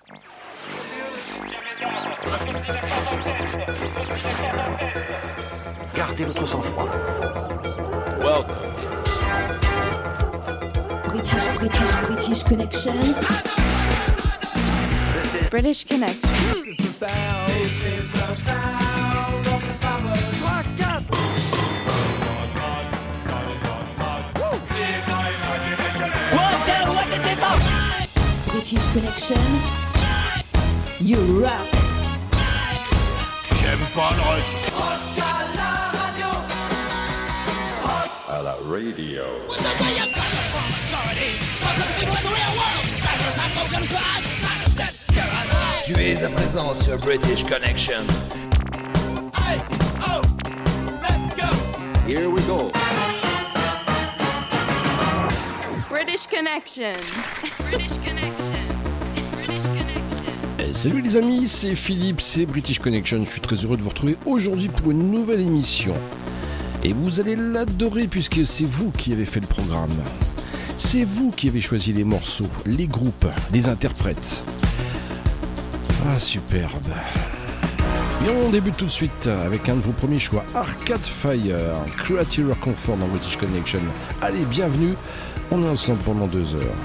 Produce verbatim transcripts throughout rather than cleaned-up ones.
Gardez votre sang-froid. Welcome. British, British, British Connection. British Connection. This is the sound of the summer. British Connection. You rock. J'aime pas le rock. Rock à la radio. Rock À la radio. Tu es à présent sur British Connection. Hey, oh, let's go. Here we go. British Connection. British Connection. British Connection. Eh, salut les amis, c'est Philippe, c'est British Connection. Je suis très heureux de vous retrouver aujourd'hui pour une nouvelle émission. Et vous allez l'adorer puisque c'est vous qui avez fait le programme. C'est vous qui avez choisi les morceaux, les groupes, les interprètes. Ah, superbe. Et on débute tout de suite avec un de vos premiers choix, Arcade Fire, Creature Comfort dans British Connection. Allez, bienvenue, on est ensemble pendant deux heures.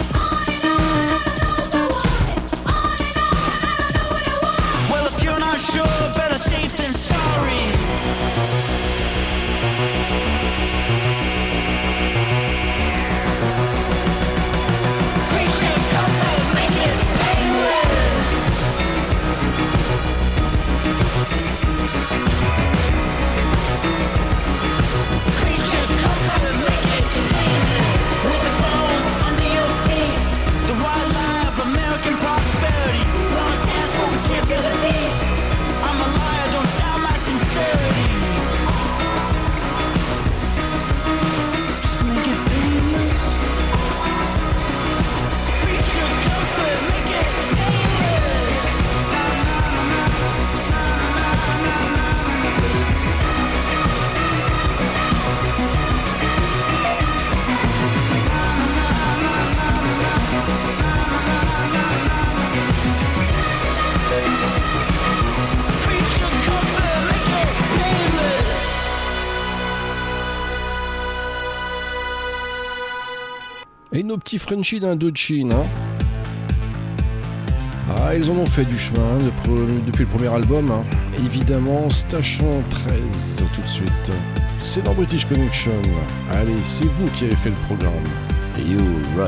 Well, if you're not sure Et nos petits Frenchies d'Indochine, hein. Ah, ils en ont fait du chemin de, depuis le premier album, hein. Évidemment, Station treize, tout de suite. C'est dans British Connection. Allez, c'est vous qui avez fait le programme. You rock.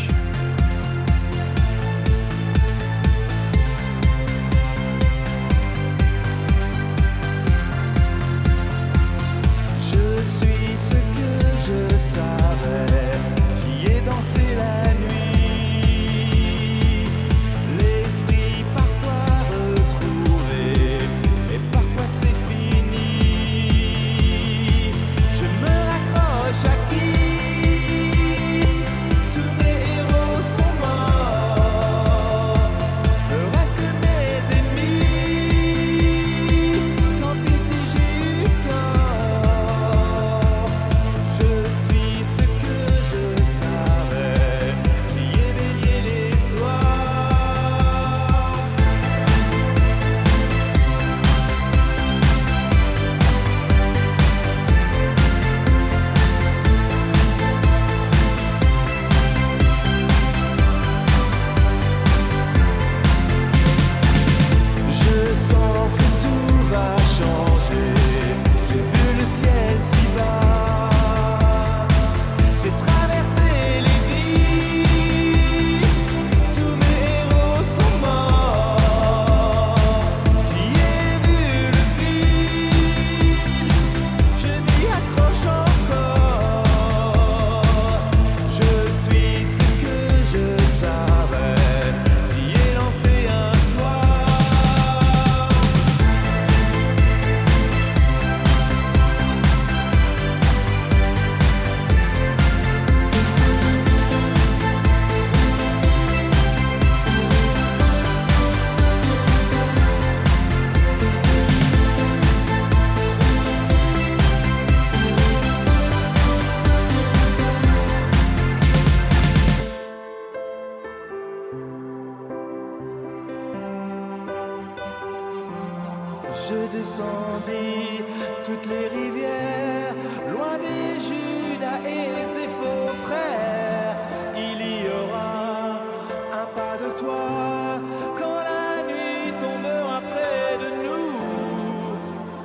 Je descendis toutes les rivières, loin des Judas et tes faux frères. Il y aura un pas de toi quand la nuit tombera près de nous.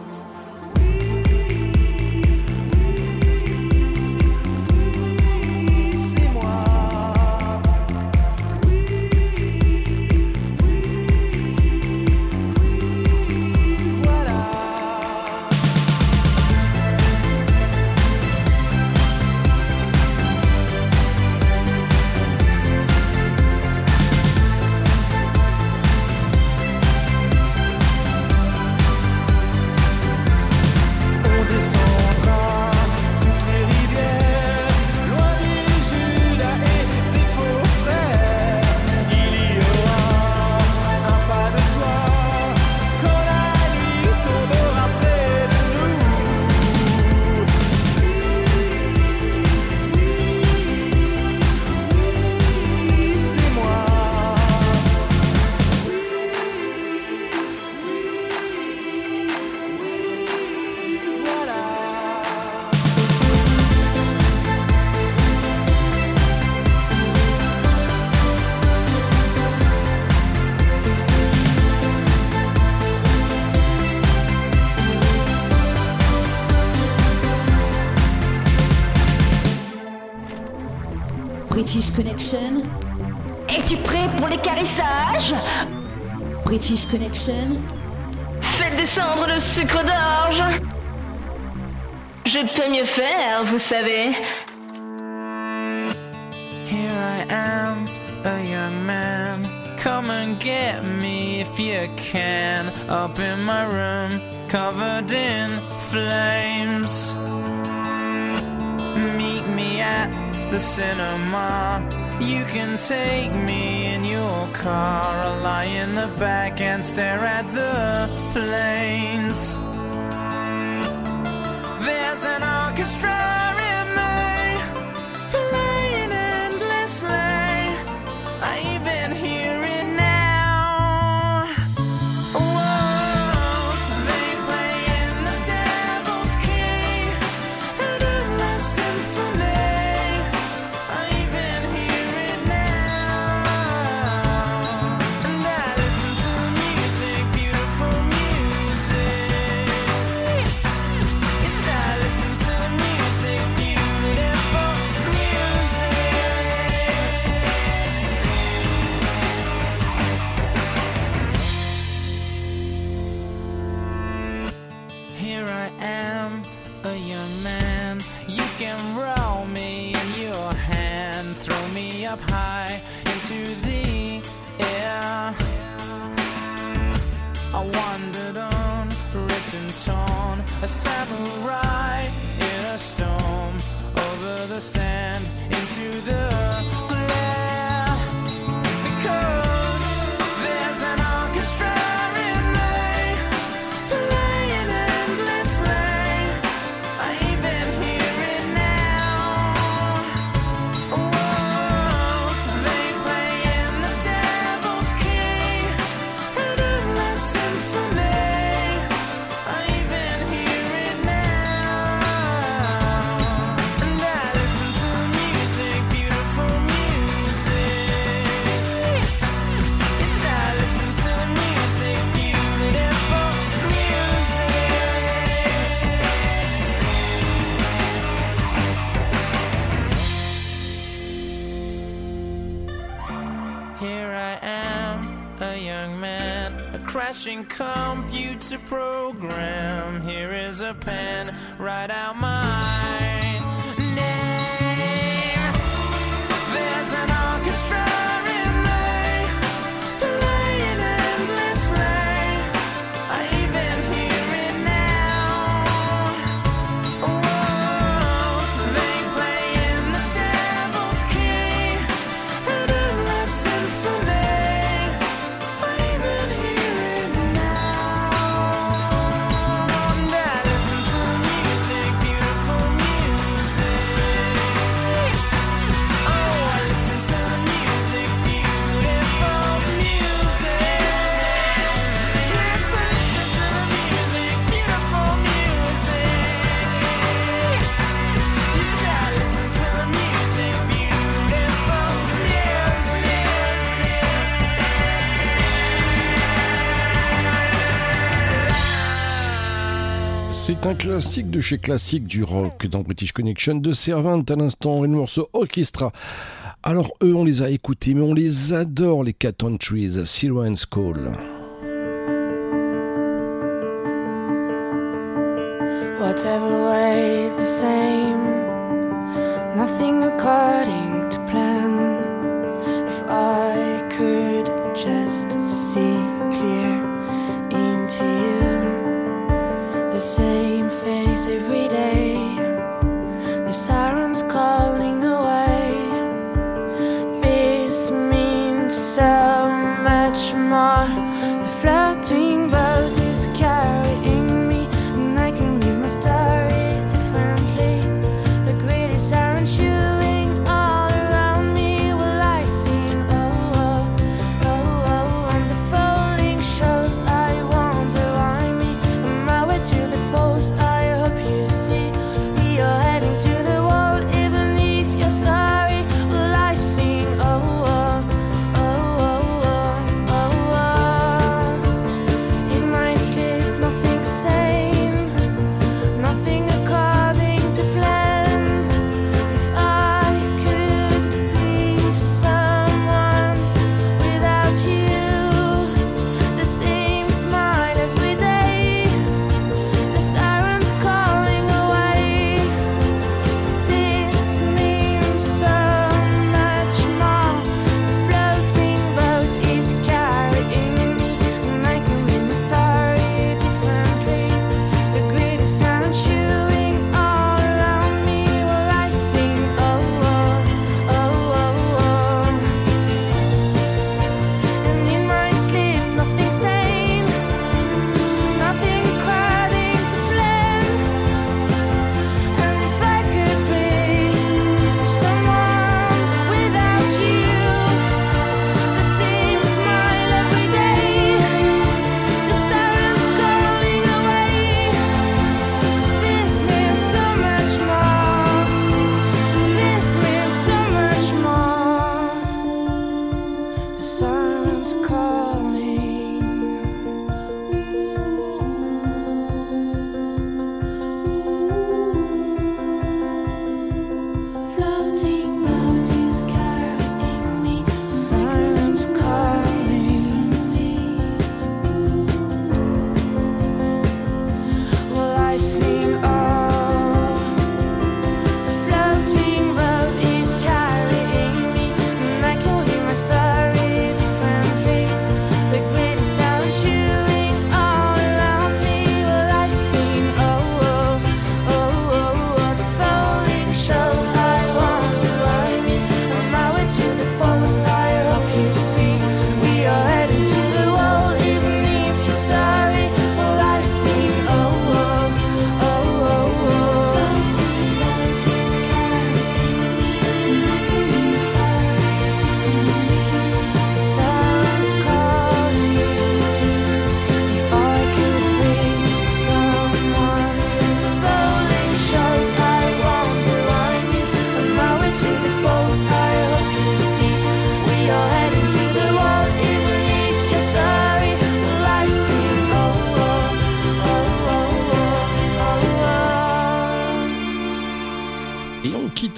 C'est moi. British Connection. Es-tu prêt pour les caressages? British Connection. Faites descendre le sucre d'orge. Je peux mieux faire, vous savez. Here I am, a young man. Come and get me if you can. Up in my room, covered in flames. Meet me at the cinema. You can take me in your car. I'll lie in the back and stare at the planes. There's an orchestra in me, playing endlessly. I even hear it now. Whoa, they play in the devil's key, an endless symphony. I even hear up high into the air. I wandered on, written torn, a samurai in a storm, over the sand into the glare. Because there's an orchestra in me, playing endlessly. I even hear it now. Whoa, they play in the devil's key, an endless symphony. I even hear it now. And I listen to music, beautiful music. Yes, I listen to music, beautiful music. Here I am, a young man, a crashing computer program. Here is a pen, write out my name. There's an orchestra in me, playing endlessly. I even hear it now. Whoa, they play in the devil's key, an endless symphony. I even hear it now. And I listen to music, beautiful music. Oh, I listen to music, beautiful music. Yes, I listen to the music, beautiful music. Yes, I listen to the music, beautiful music. C'est un classique de chez classique du rock dans British Connection de Servant à l'instant et le morceau Orchestra. Alors eux on les a écoutés mais on les adore les Cat on Trees, Siren's Call. Whatever way the same, nothing according to plan. If I could just see clear into you, the same face every day, the sirens calling away. This means so much more. The floating boat is carrying me, and I can live my story differently. The greedy siren chewing all around me. Will I sing? Oh, oh, oh, oh. On the folding shows, I wonder why me. On my way to the falls, I hope you see.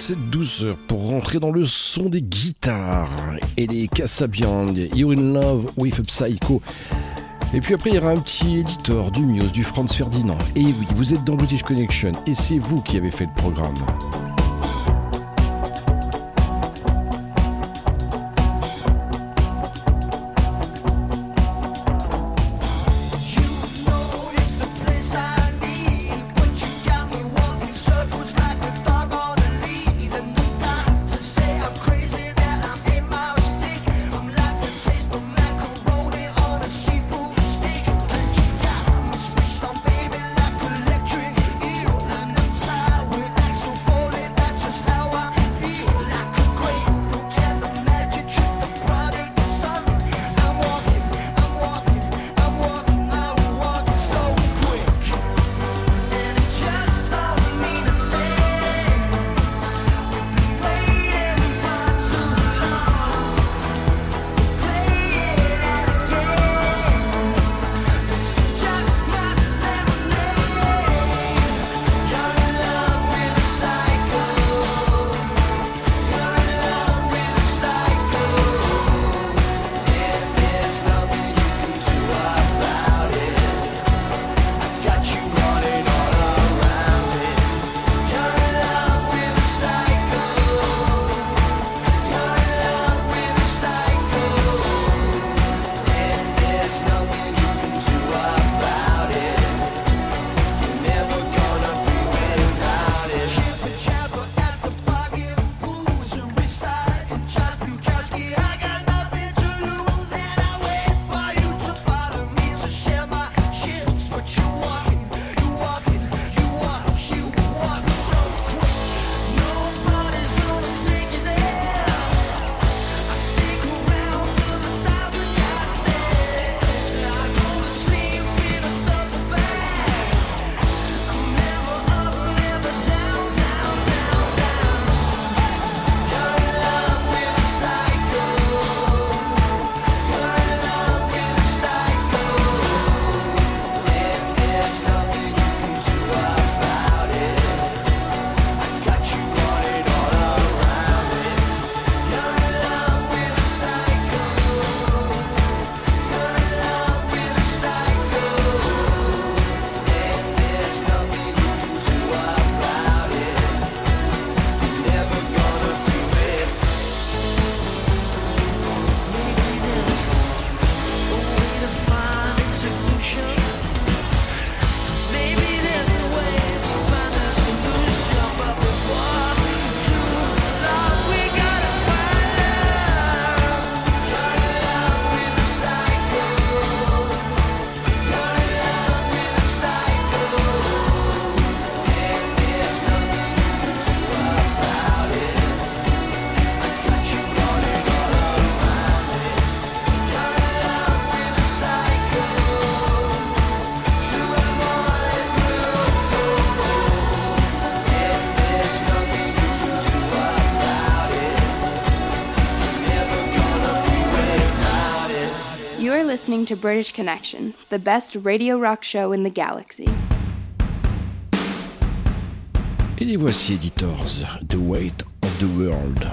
cette douceur pour rentrer dans le son des guitares et les Kasabian, You're in Love with a Psycho. Et puis après, il y aura un petit éditeur du Muse, du Franz Ferdinand. Et oui, vous êtes dans British Connection et c'est vous qui avez fait le programme. Listening to British Connection, the best radio rock show in the galaxy. Et les voici Editors, The Weight of the World.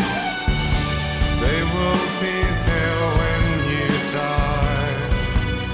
They will be there when you die.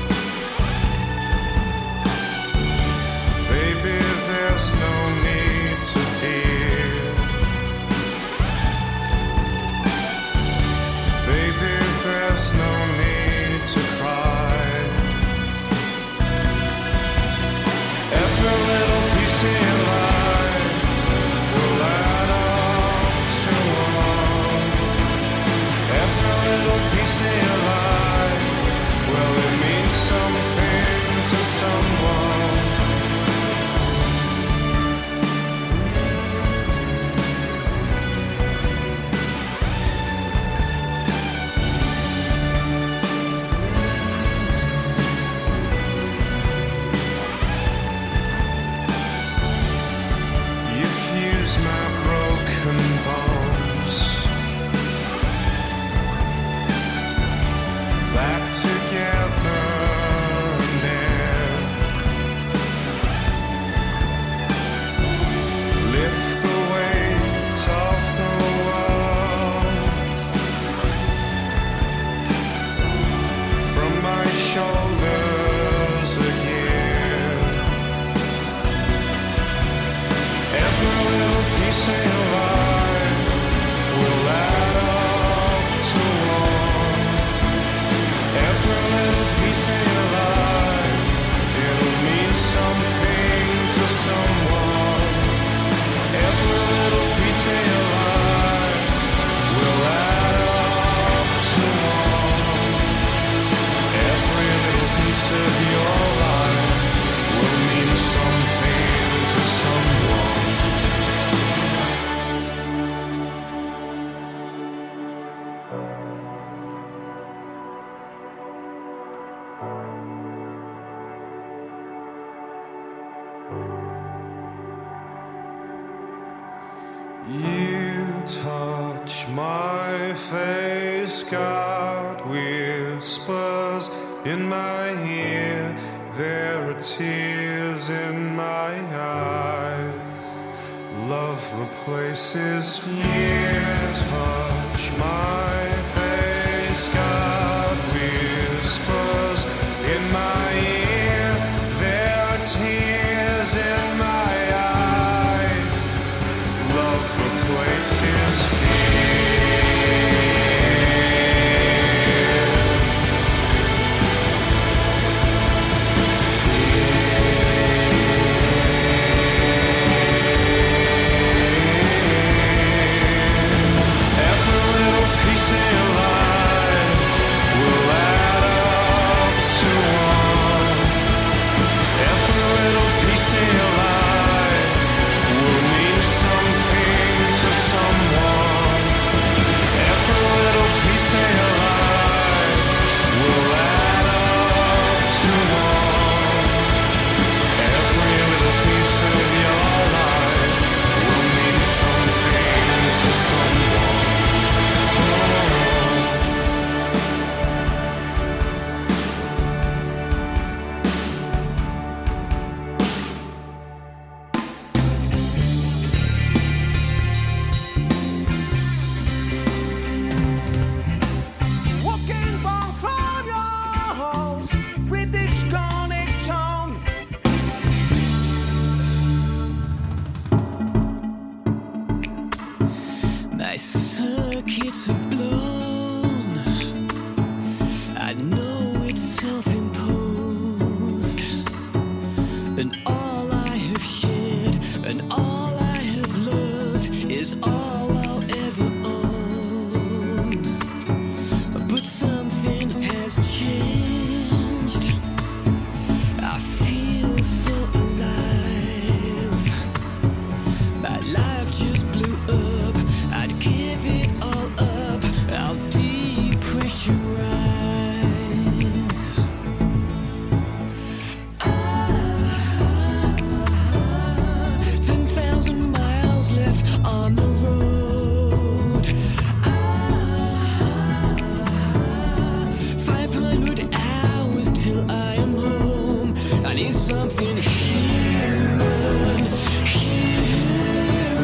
piece of your life will add up to one. Every little piece of your life, it'll mean something to someone. Every little piece of your life will add up to one. Every little piece of your life will mean something to someone. You touch my face, God whispers in my ear. There are tears in my eyes. Love replaces fear. Touch my face, God whispers in my ear. There are tears in my eyes. Love replaces fear. Every little piece of your life will add up to one. Every little piece of your life will mean something to someone. Every little piece of your life will add up to one. Every little piece of your life will mean something to someone. Walking back from your house, British Connection. My circuits have blown. I know it's self-imposed, and all I have shared and all I have loved is all I'll ever own. But something has changed. I feel so alive. My life just blew up. I'd give it all up. I'll depressurize. Ten thousand miles left on the road. Five hundred hours till I am home. I need something human, human,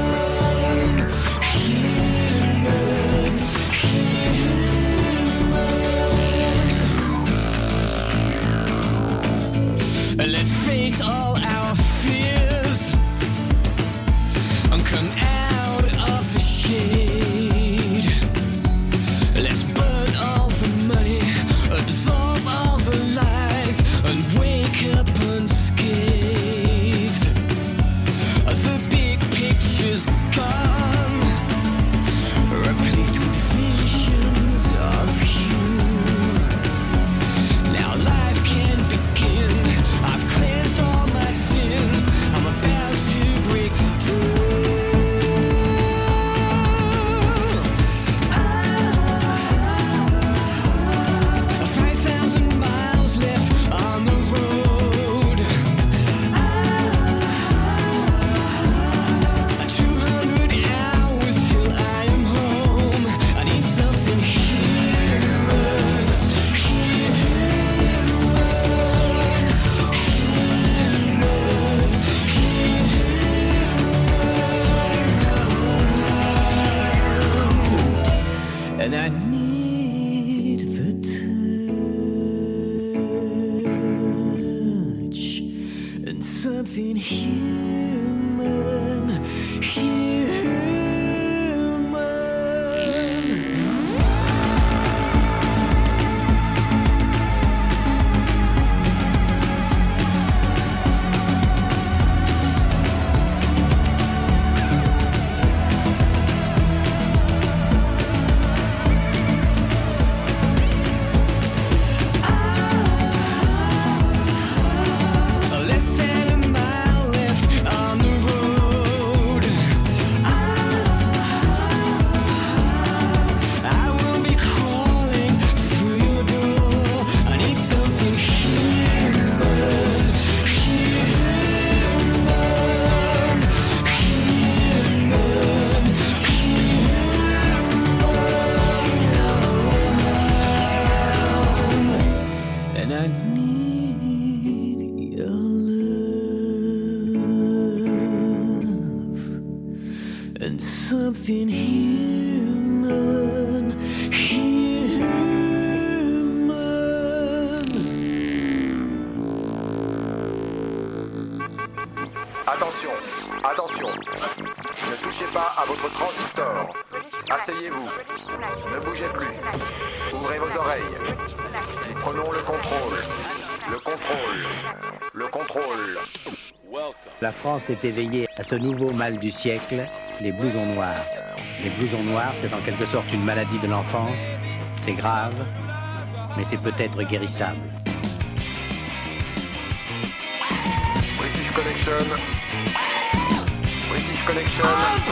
human, human. Let's face all our fears and come out of the shade. Let's burn all the money, absolve all the lies, and wake up unscathed. The big picture's gone, replaced with visions of you. Now life can begin. I've cleansed all my sins. I'm about to break through. Five thousand miles left on the road. Two hundred hours till I am home. I need something human, human, and I need the touch and something human, human. and I need your love and something human, human. Attention, attention. Ne touchez pas à votre transistor. Asseyez-vous. Ne bougez plus. Ouvrez vos oreilles. Prenons le contrôle. Le contrôle. Le contrôle. La France est éveillée à ce nouveau mal du siècle, les blousons noirs. Les blousons noirs, c'est en quelque sorte une maladie de l'enfance. C'est grave, mais c'est peut-être guérissable. British Connection. British Connection.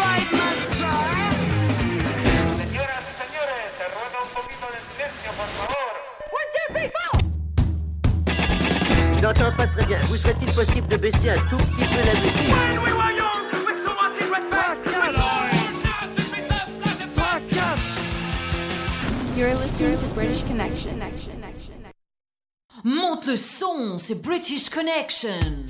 Je n'entends pas très bien. Vous serait-il possible de baisser un tout petit peu la musique? You're listening to British Connection. Monte le son, c'est British Connection.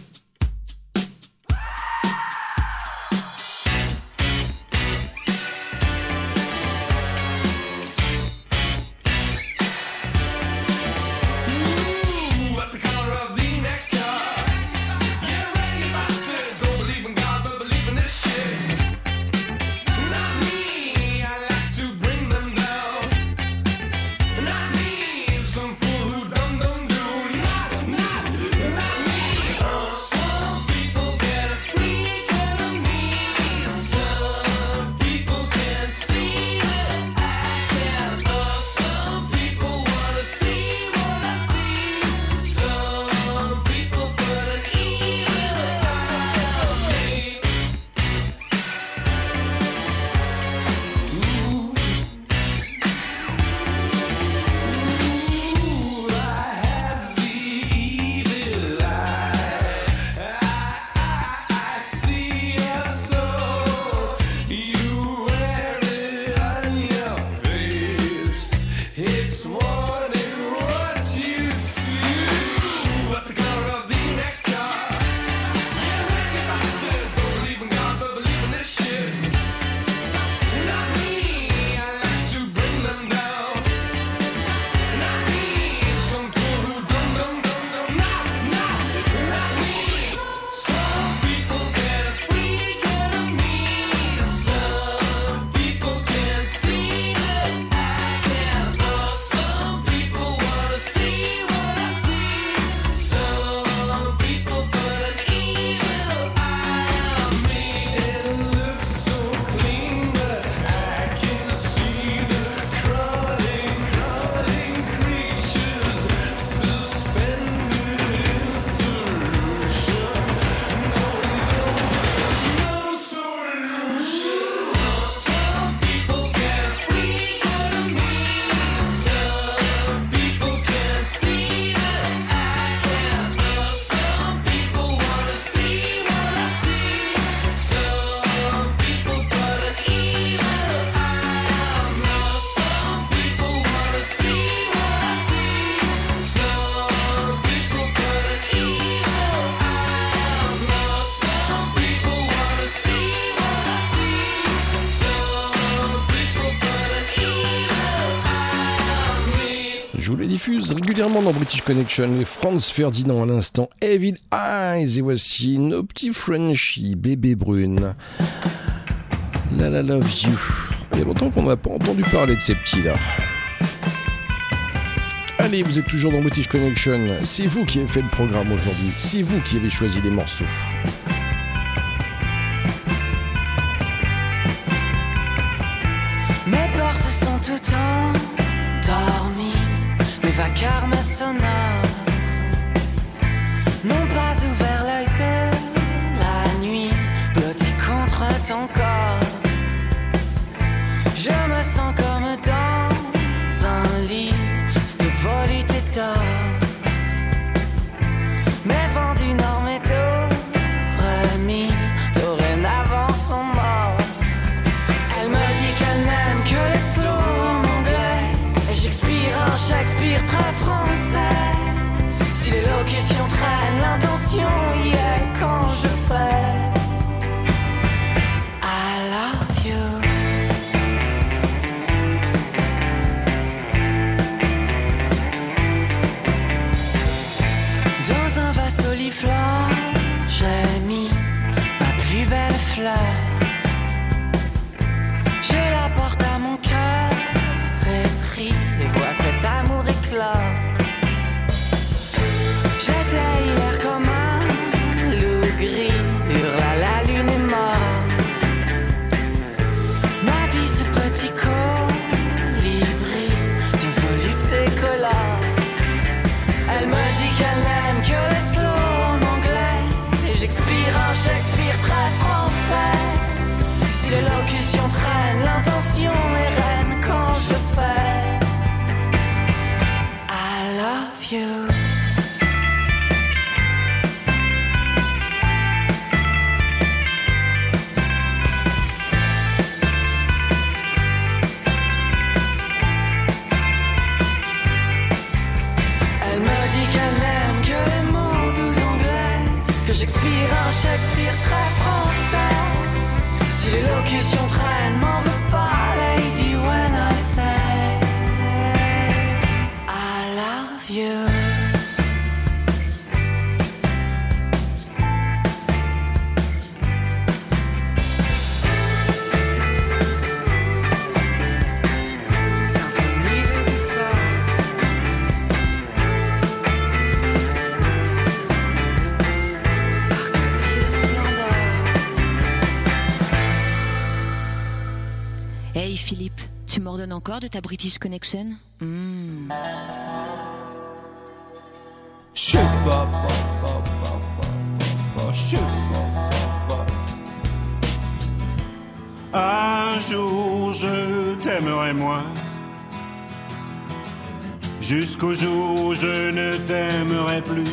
Je vous les diffuse régulièrement dans British Connection, les Franz Ferdinand à l'instant, Evil Eyes, et voici nos petits Frenchies, bébé brune. La la love you. Il y a longtemps qu'on n'a pas entendu parler de ces petits-là. Allez, vous êtes toujours dans British Connection, c'est vous qui avez fait le programme aujourd'hui, c'est vous qui avez choisi les morceaux. Mes peurs se sont tout endormis, mes vacarmes sonores n'ont pas ouvert l'œil de la nuit, blotti contre ton corps. Je me sens comme dans un lit de volupté d'or. Mes vents du nord m'étaient remis, dorénavant sont morts. Elle me dit qu'elle n'aime que les slow en anglais, et j'expire un Shakespeare très français. j'expire un Shakespeare très français. Si l'élocution traîne, l'intention est reine quand je le fais. I love you. Elle me dit qu'elle n'aime que les mots doux anglais, que j'expire un Shakespeare très français. Si l'élocution traîne, m'en veux pas, lady, when I say I love you. Symphonie de douceur. Arcadie de splendeur. Hey Philippe, tu m'ordonnes encore de ta British Connection? Hmm. Je sais pas, pas, pas, pas, pas, pas, je sais pas, pas, pas. Un jour je t'aimerai moins, jusqu'au jour où je ne t'aimerai plus.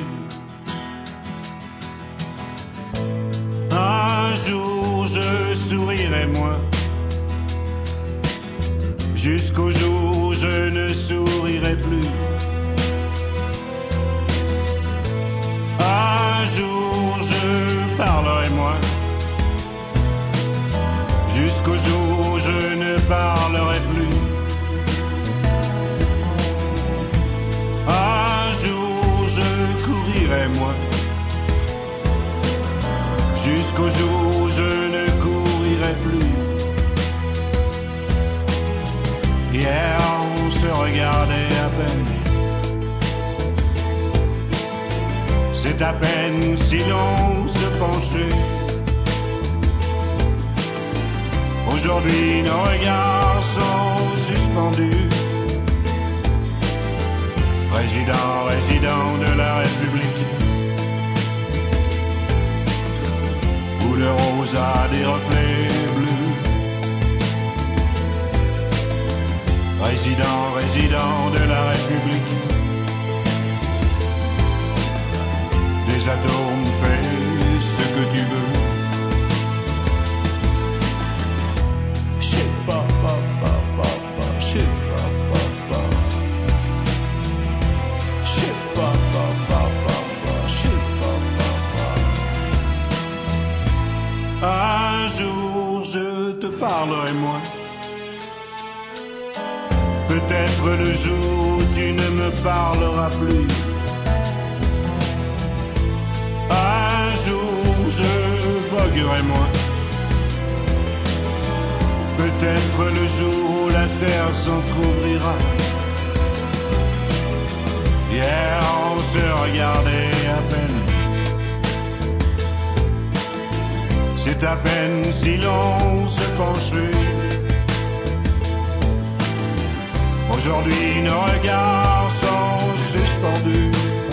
Un jour je sourirai moins, jusqu'au jour où je ne sourirai plus. Un jour je parlerai moins, jusqu'au jour où je ne parlerai plus. Un jour je courirai moins, jusqu'au jour où je ne courirai plus. Hier on se regardait à peine, c'est à peine si l'on se penchait. Aujourd'hui nos regards sont suspendus. Président, résident de la République, où le rose a des reflets bleus. Résident, résident de la République, des atomes fais ce que tu veux. Je sais pas, pas, pas, pas, pas, je sais pas, pas, pas. Je sais pas, pas, pas, pas, pas, je sais pas, pas, pas. Un jour je te parlerai moins, peut-être le jour où tu ne me parleras plus. Un jour je voguerai moins, peut-être le jour où la terre s'entr'ouvrira. Hier on se regardait à peine, c'est à peine si l'on se penchait. Aujourd'hui nos regards sont suspendus.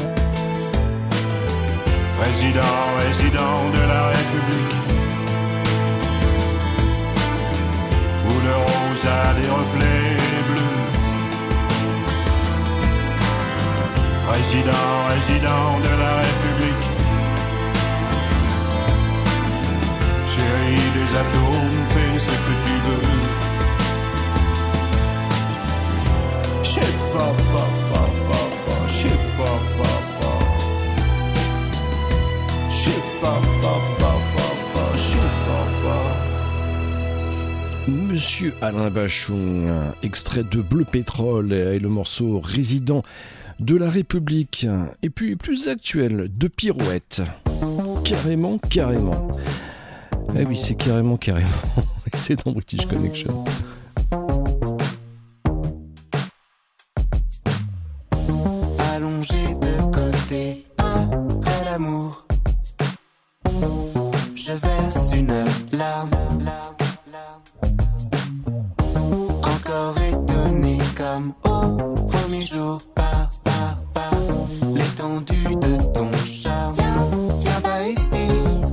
Président, résident de la République, où le rose a des reflets bleus. Président, résident de la République, chérie des atomes, fais ce que tu veux. Je sais pas, pas, pas, pas, pas, je sais pas, pas, pas. Je sais pas, pas, pas, pas, pas, je sais pas, pas. Monsieur Alain Bachung, extrait de Bleu Pétrole et le morceau Résident de la République. Et puis plus actuel, de Pirouette. Carrément, carrément. Eh oui, c'est carrément, carrément. C'est dans British Connection. Allongé de côté après l'amour, je verse une larme. Encore étonné comme au premier jour, par, par, par l'étendue de ton charme. Viens, viens pas ici,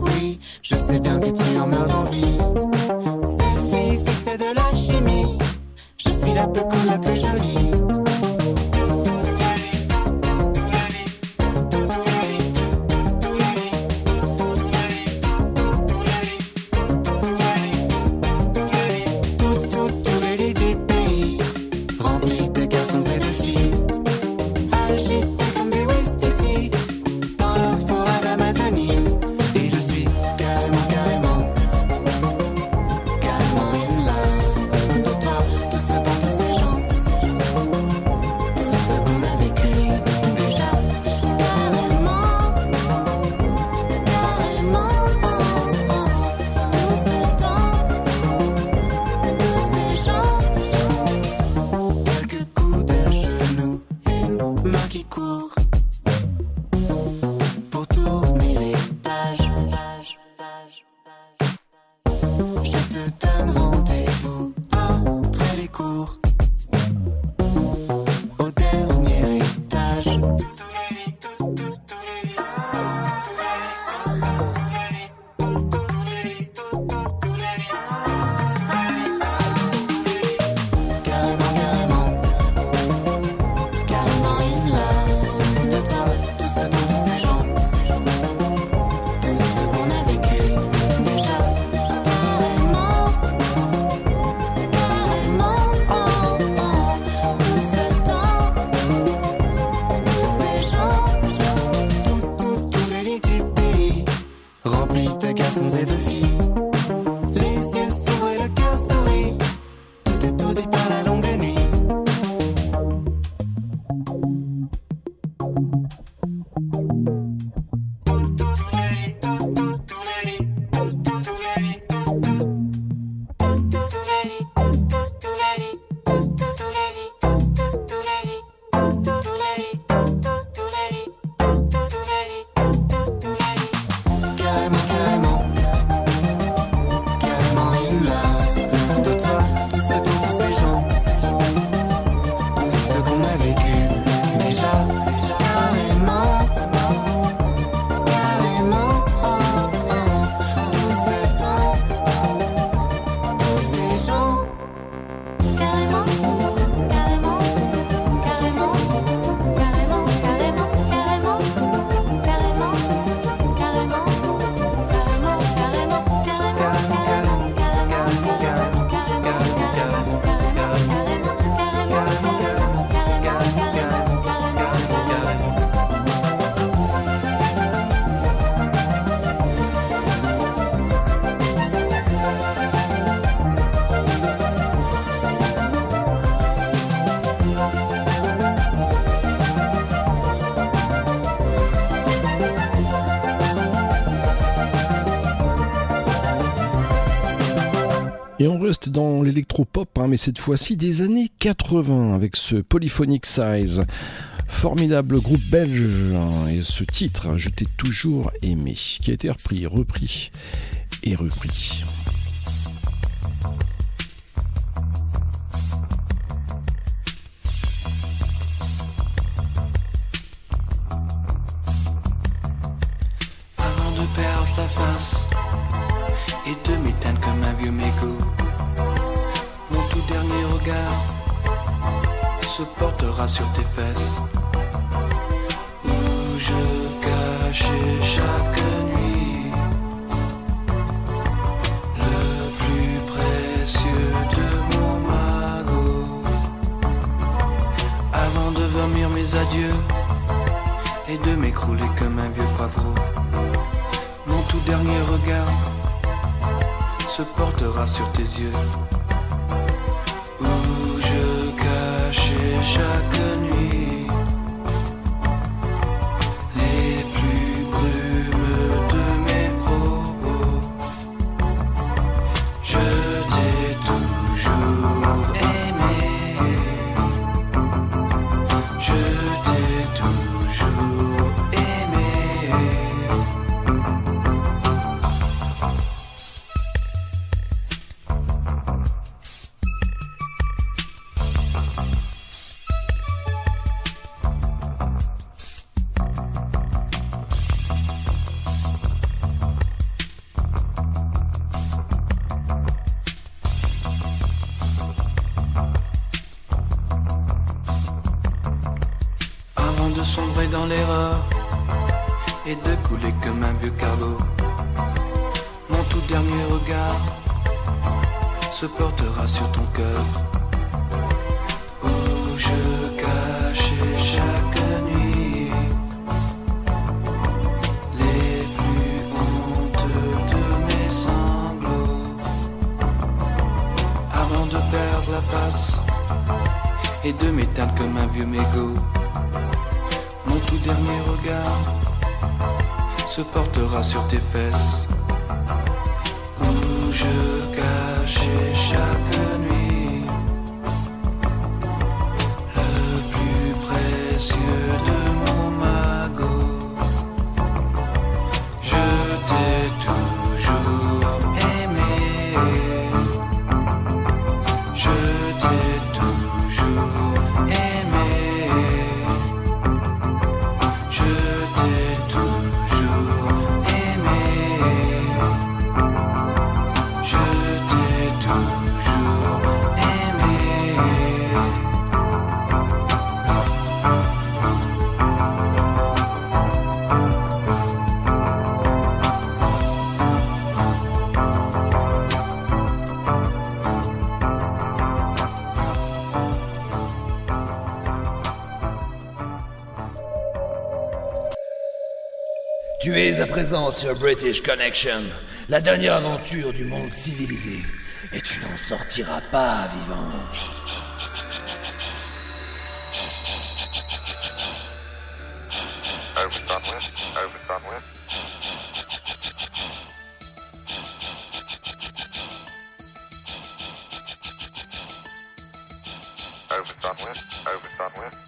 cours pour tourner les pages. Je te donne rendez-vous après les cours au dernier étage. Et de filles, les yeux s'ouvrent et le cœur sourit. Tout est tout dit par la longue nuit. Et on reste dans l'électropop, hein, mais cette fois-ci des années quatre-vingts, avec ce Polyphonic Size, formidable groupe belge, hein, et ce titre, Je t'ai toujours aimé, qui a été repris, repris et repris. Avant de perdre la face et de m'éteindre comme un vieux mégot, mon tout dernier regard se portera sur tes fesses, où je cachais chaque nuit le plus précieux de mon magot. Avant de vomir mes adieux et de m'écrouler comme un vieux poivreau, mon tout dernier regard se portera sur tes yeux, où je cachais chaque nuit les plus brumes de mes propos. Je t'ai toujours aimé, je t'ai toujours aimé. De sombrer dans l'erreur et de couler comme un vieux cargo, mon tout dernier regard se portera sur ton cœur, où je cachais chaque nuit les plus honteux de mes sanglots. Avant de perdre la face et de m'éteindre comme un vieux mégot, mon tout dernier regard se portera sur tes fesses, où je cachais chaque nuit le plus précieux de mon Tu es à présent sur British Connection, la dernière aventure du monde civilisé. Et tu n'en sortiras pas vivant. Over Southwest, over Southwest. Over Southwest, over Southwest.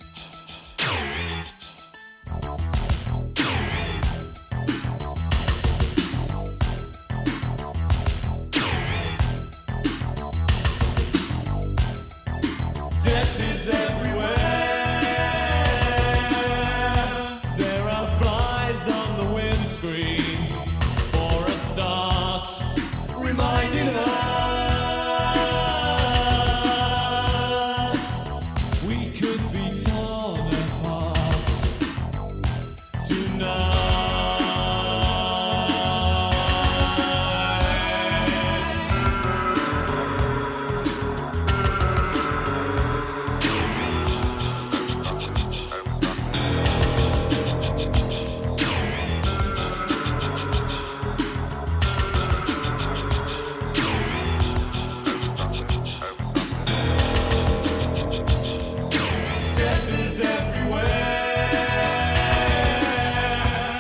Death is everywhere. There are flies on the windscreen. For a start, reminding us we could be torn apart tonight. Death is everywhere.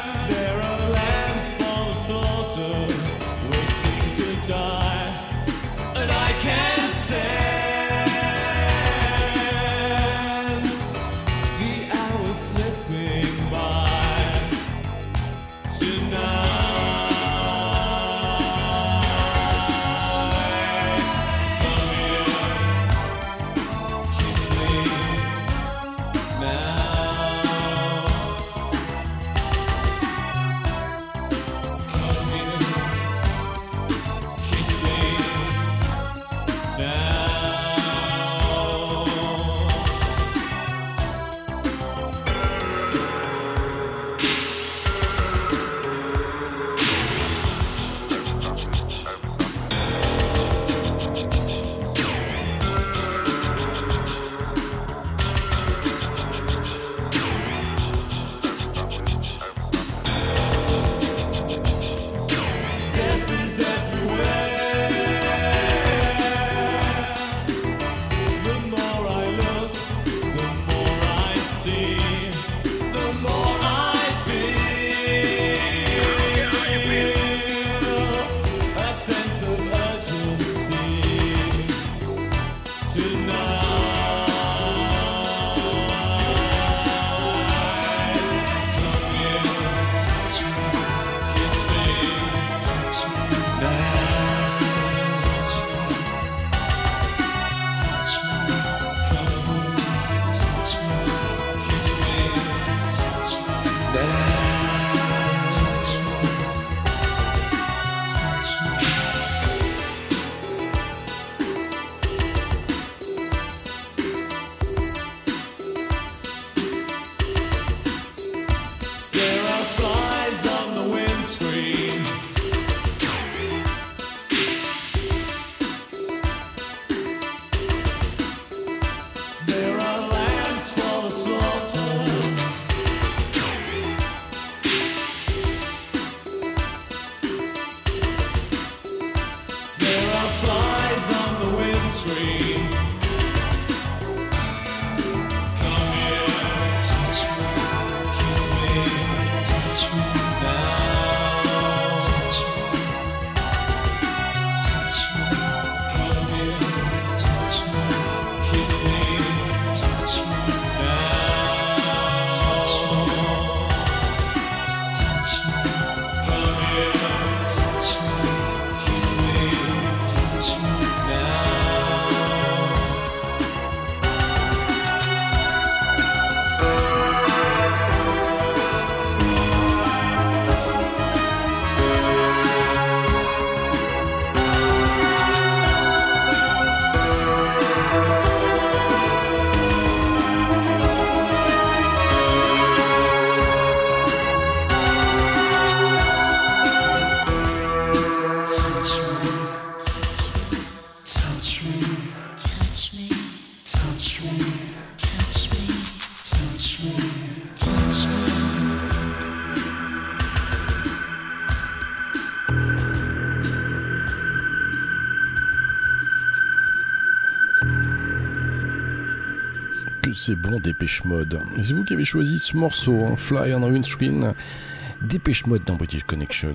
c'est bon Dépêche Mode. Et c'est vous qui avez choisi ce morceau, hein, Fly on the Windscreen. Dépêche Mode dans British Connection.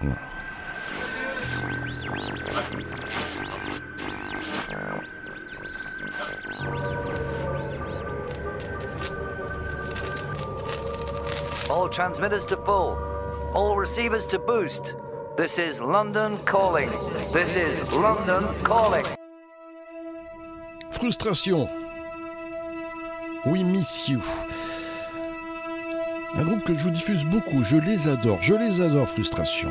All transmitters to full. All receivers to boost. This is London calling. This is London calling. Frustration. We miss you. Un groupe que je vous diffuse beaucoup. Je les adore. Je les adore, Frustration.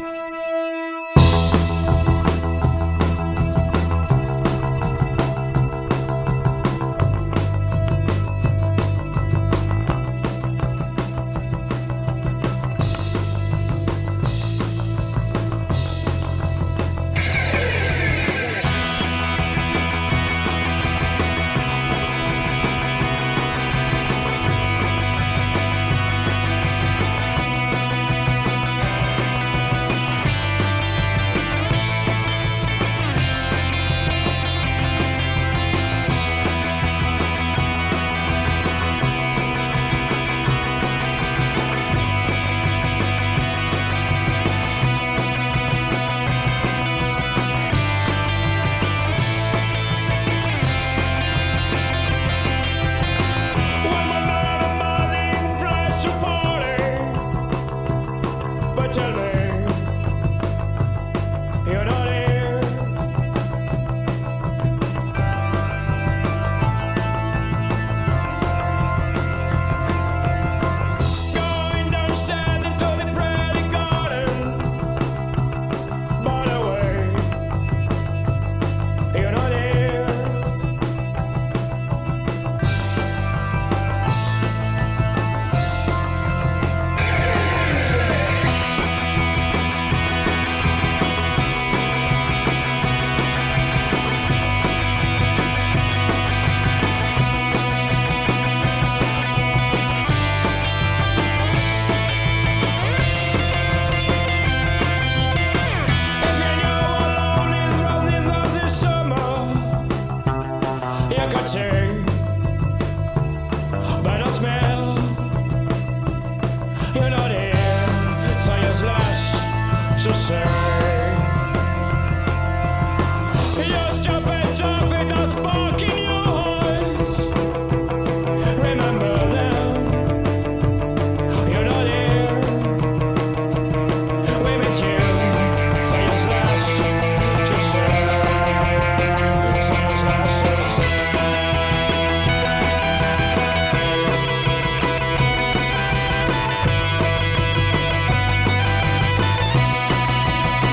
Thank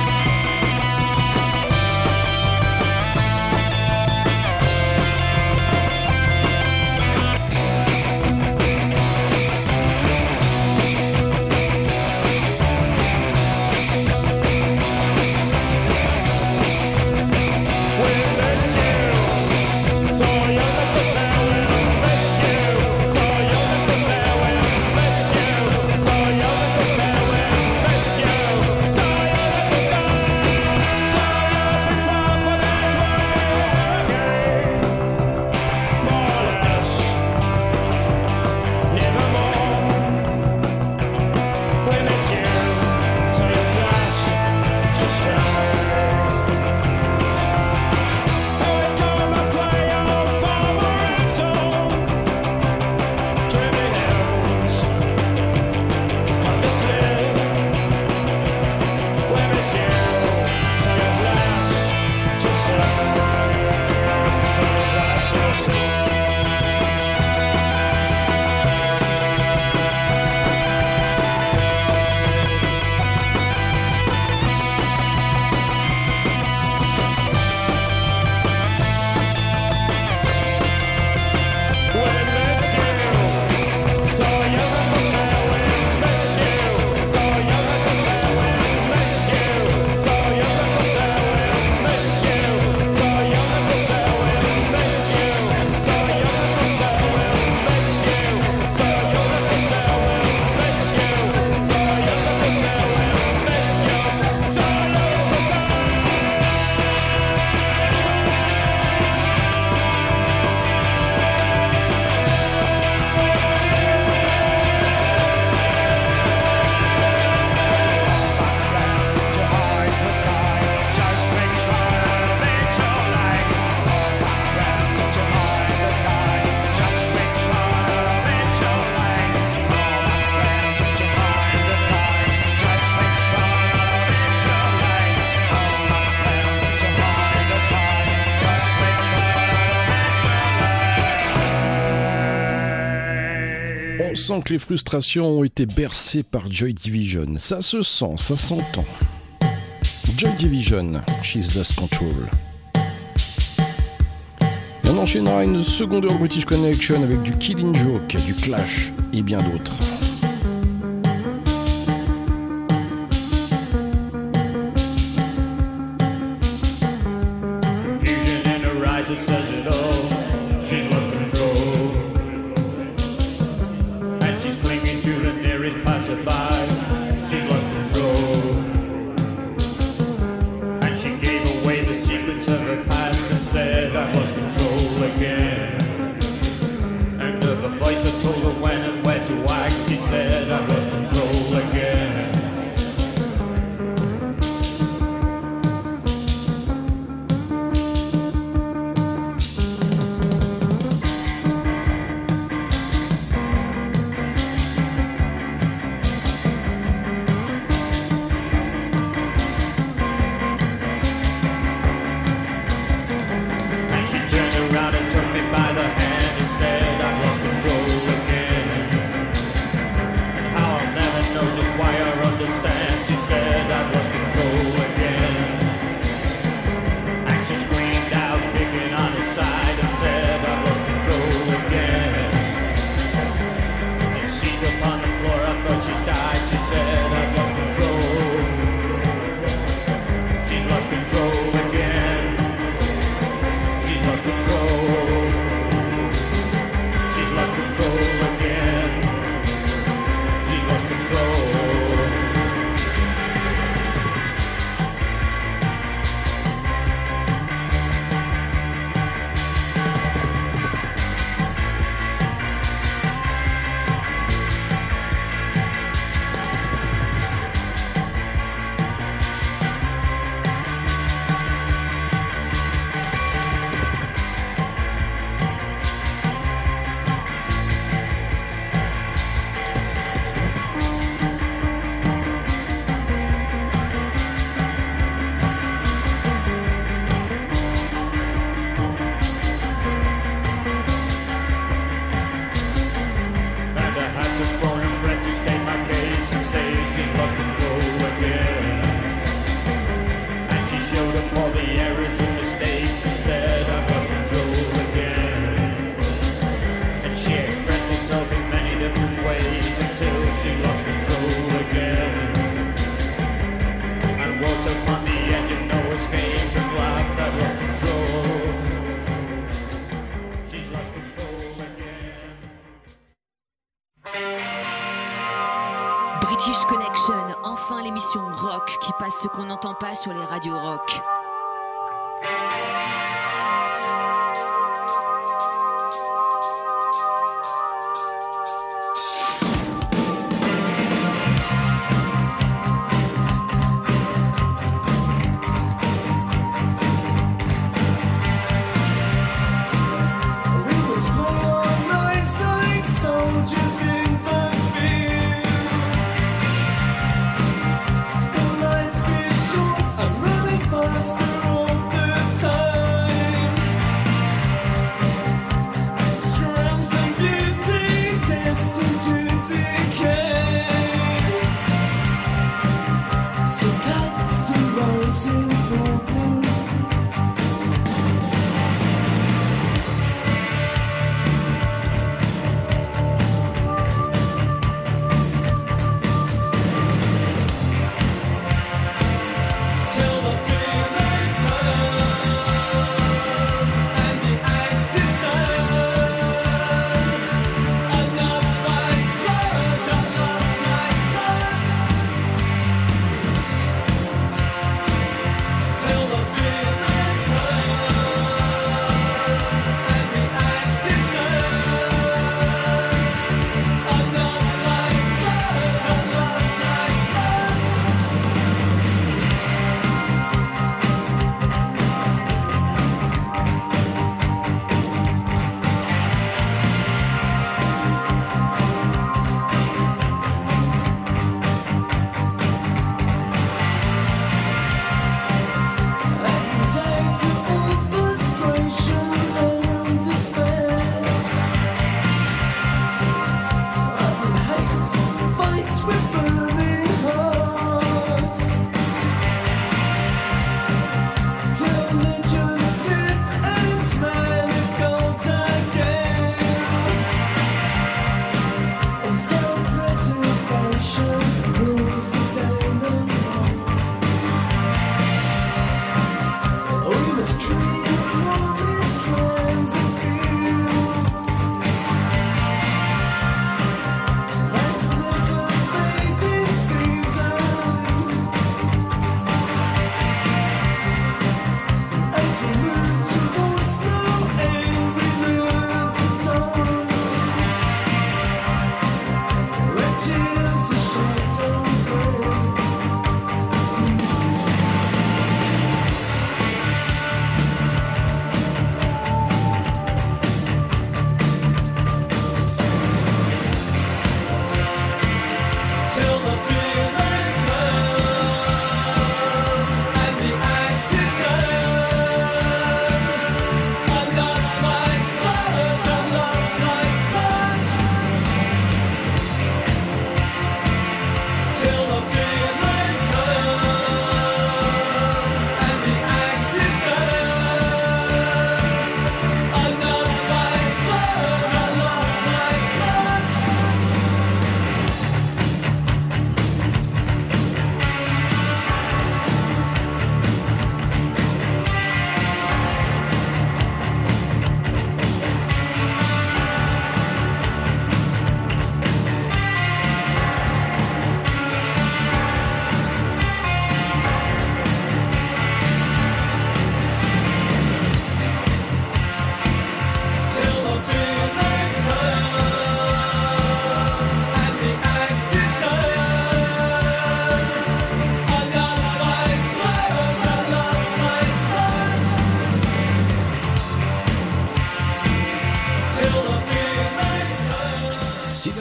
sent que les frustrations ont été bercées par Joy Division. Ça se sent, ça s'entend. Joy Division, She's Lost Control. Et on enchaînera une seconde heure British Connection avec du Killing Joke, du Clash et bien d'autres. It says it all, she's lost control. And she's clinging to the nearest passerby, she's lost control. And she gave away the secrets of her past and said, I've lost control again. And of a voice that told her when and where to act, she said, I've lost control again. British Connection, enfin l'émission rock qui passe ce qu'on n'entend pas sur les radios rock.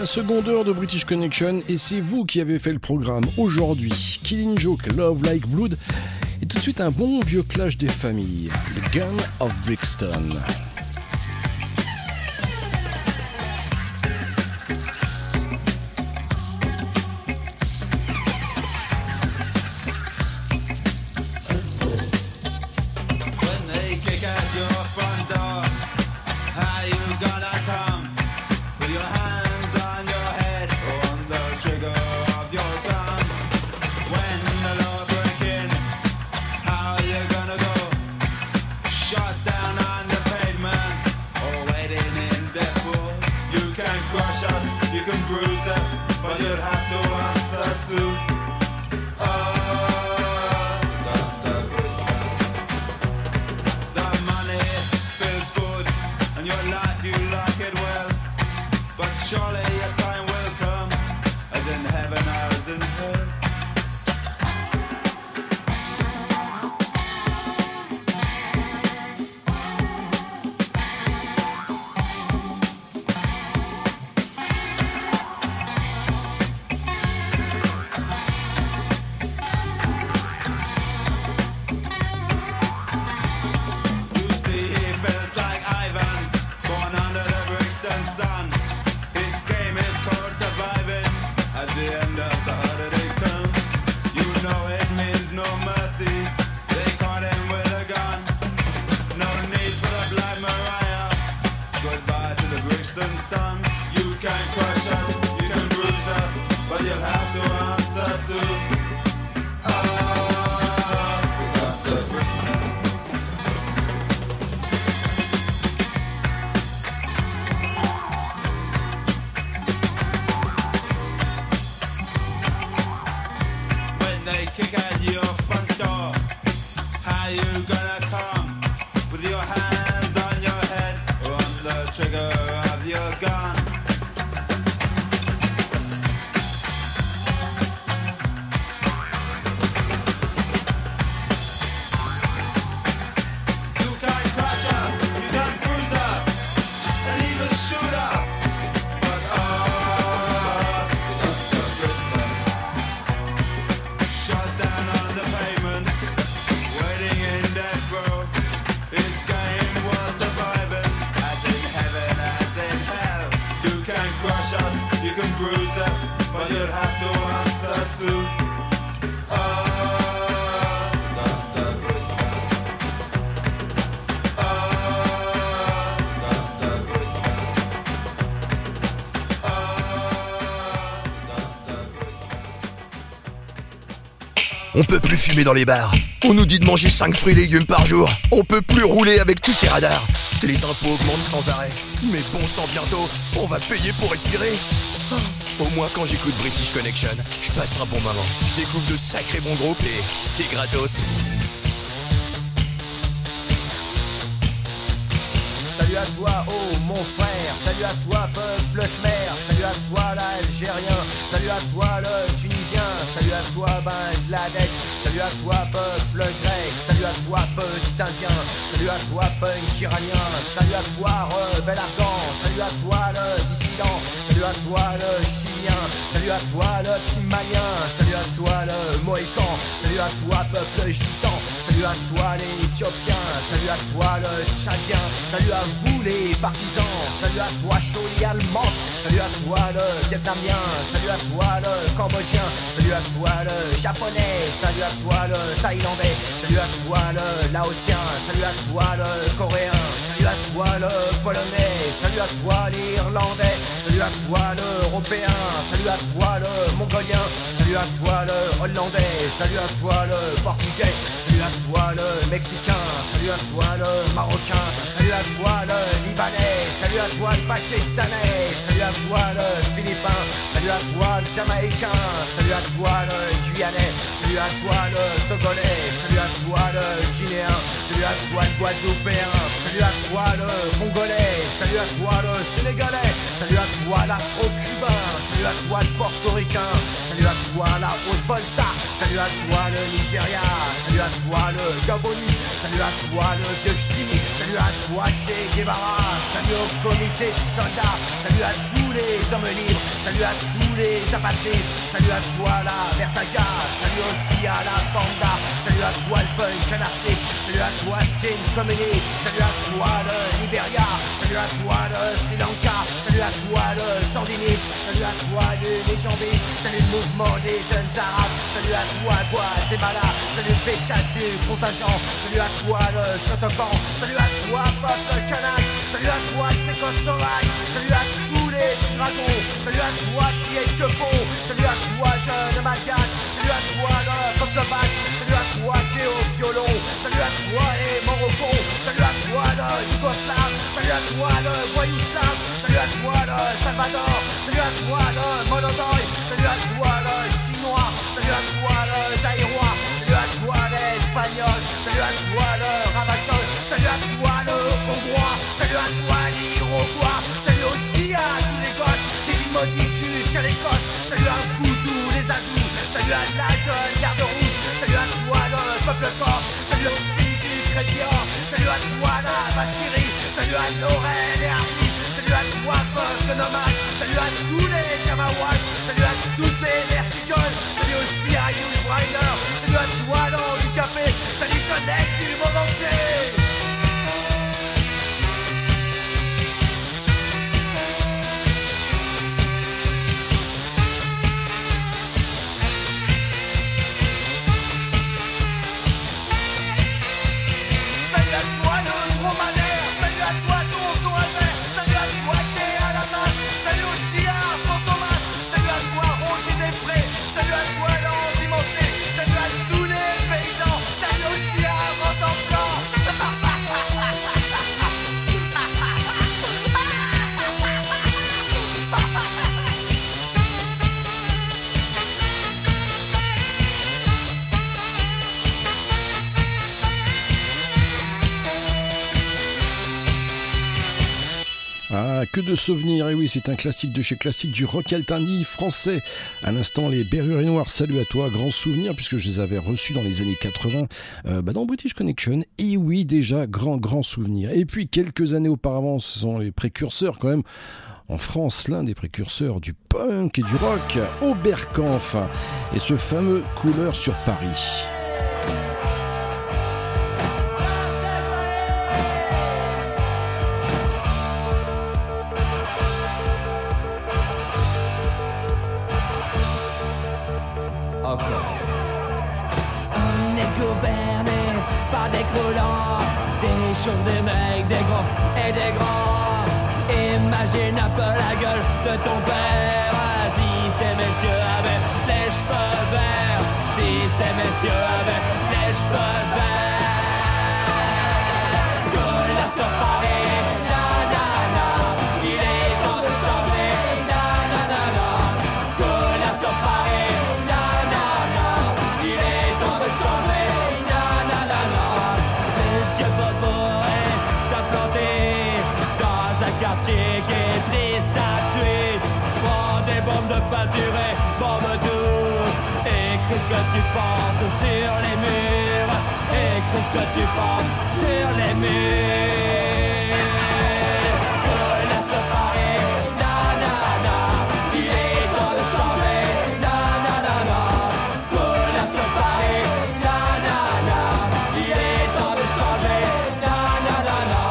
seconde heure de British Connection et c'est vous qui avez fait le programme aujourd'hui. Killing Joke, Love Like Blood et tout de suite un bon vieux clash des familles, The Gun of Brixton. On peut plus fumer dans les bars. On nous dit de manger cinq fruits et légumes par jour. On peut plus rouler avec tous ces radars. Les impôts augmentent sans arrêt. Mais bon sang, bientôt, on va payer pour respirer. Oh, au moins quand j'écoute British Connection, je passe un bon moment. Je découvre de sacrés bons groupes et c'est gratos. Salut à toi, oh mon frère. Salut à toi, peuple khmer. Salut à toi, l'Algérien. Salut à toi, le Tunisien. Salut à toi, Bangladesh. Salut à toi, peuple grec. Salut à toi, petit indien. Salut à toi, punk iranien. Salut à toi, rebelle afghan. Salut à toi, le dissident. Salut à toi, le chilien. Salut à toi, le petit malien. Salut à toi, le mohican. Salut à toi, peuple gitan. Salut à toi, les éthiopiens. Salut à toi, le tchadien. Salut à vous, les partisans. Salut à toi, Choli allemande. Salut à toi, le vietnamien. Salut à toi, le cambodgien. Salut à toi, le japonais. Salut à toi, le thaïlandais. Salut à toi, le laotien. Salut à toi, le coréen. Salut à toi, le polonais. Salut à toi, l'irlandais. Salut à toi, l'européen. Salut à toi, le mongolien. Salut à toi, le hollandais. Salut à toi, le portugais. Salut à toi, le mexicain. Salut à toi, le marocain. Salut à toi, le libanais. Salut à toi, le pakistanais. Salut à toi, le philippin. Salut à toi, le jamaïcain. Salut à toi, le guyanais. Salut à toi, le togolais. Salut à toi, le guinéen. Salut à toi, le guadeloupéen. Salut à toi, le congolais. Salut à toi, le sénégalais. Salut à toi, l'afro-cubain. Salut à toi, le portoricain. Salut à toi, la Haute-Volta. Salut à toi, le Nigeria. Salut à toi, le Gaboni. Salut à toi, le vieux ch'ti. Salut à toi, Che Guevara. Salut au comité de soldats. Salut à tous tous les hommes libres, salut à tous les apatrides, salut à toi la Vertaga, salut aussi à la Panda, salut à toi le punk anarchiste, salut à toi skin communiste, salut à toi le Liberia, salut à toi le Sri Lanka, salut à toi le sandiniste, salut à toi le légambiste, salut le mouvement des jeunes arabes, salut à toi Guatemala, salut le B quatre du contingent, salut à toi le Shotokan, salut à toi peuple kanak, salut à toi Tchécoslovaque, salut à tous les petits dragons, salut à toi qui est que bon, salut à toi jeune malgache, salut à toi le peuple bac, salut à toi qui est au violon, salut à toi les Morocons, salut à toi le Yougoslave, salut à toi le Voyouslav, salut à toi le Salvador, salut à toi le Monodoy, salut à toi le Chinois, salut à toi le Zaïrois, salut à toi l'Espagnol, salut à toi le Ravachol, salut à toi le Hongrois, salut à toi l'Iroquois, salut aussi à tous les gosses, des îles maudites jusqu'à l'Écosse, salut à vous tous les Azous, salut à la jeune garde rouge, salut à toi le peuple corse, salut aux filles du Crésior, salut à toi la vache qui rit, salut à Laurel et Arthur, salut à toi peuple nomade, salut à tous les Kamawats, salut à toutes les vertigoles, salut aussi à Yul Brynner, salut à toi l'handicapé, salut Connect du monde entier. Salut à toi le dromadaire, salut à toi tonton Albert, salut à toi qui est à la masse, salut aussi à Fantomas, salut à toi Roger Després, salut à toi l'endimanché, salut à tous les paysans, salut aussi à Rotenplan. Ah, que de souvenirs, et oui, c'est un classique de chez classique du rock alternatif français. À l'instant, les Berruriers Noirs, salut à toi, grand souvenir, puisque je les avais reçus dans les années quatre-vingts, euh, bah dans British Connection, et oui, déjà, grand, grand souvenir. Et puis, quelques années auparavant, ce sont les précurseurs, quand même, en France, l'un des précurseurs du punk et du rock, Oberkampf, et ce fameux Couleur sur Paris. On est gouverné par des croulants, des chauves, des mecs, des gros et des grands. Imagine un peu la gueule de ton père. Si ces messieurs avaient les cheveux verts, si ces messieurs avaient les cheveux verts. Couleur sur Paris, nanana, il est temps de changer, nanana. Couleur sur Paris, nanana, il est temps de changer, nanana. Le dieu Bobo est implanté dans un quartier qui est triste à tuer. Prends des bombes de peinture et bombe tout. Écris ce que tu penses sur les murs. Écris ce que tu penses sur les murs. Couleur sur Paris, nanana, il est temps de changer, nanana. Couleur sur Paris, nanana, il est temps de changer, nanana.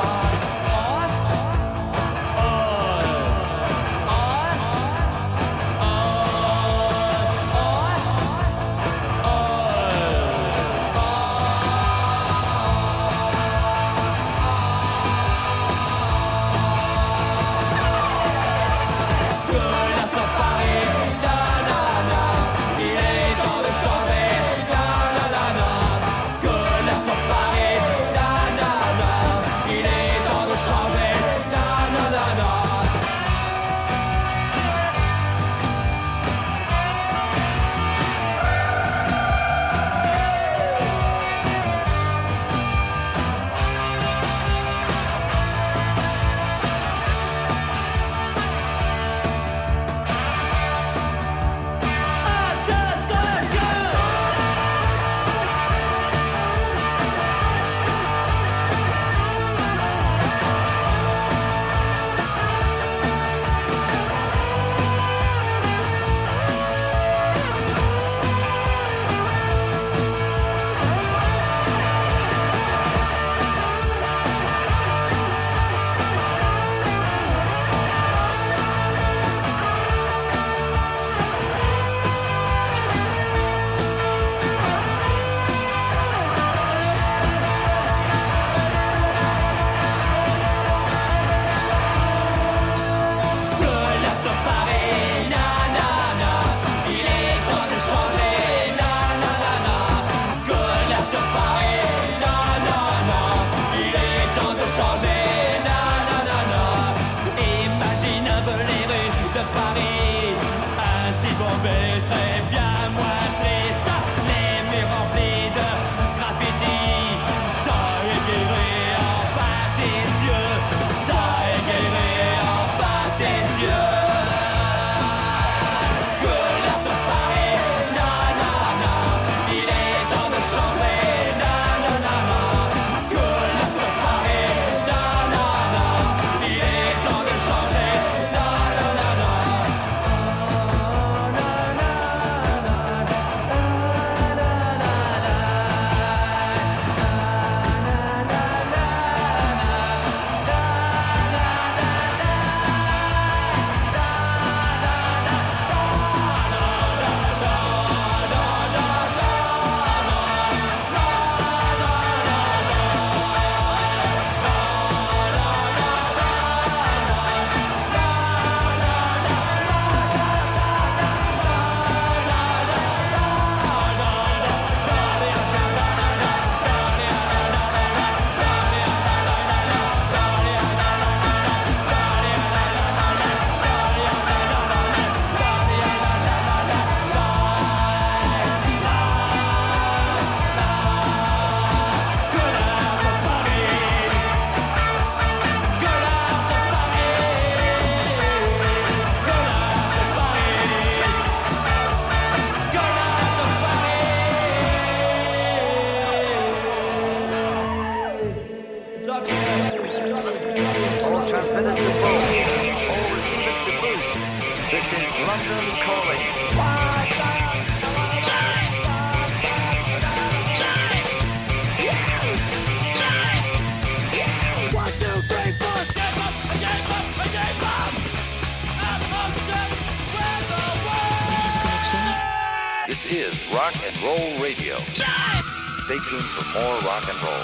and roll radio. Stay tuned for more rock and roll.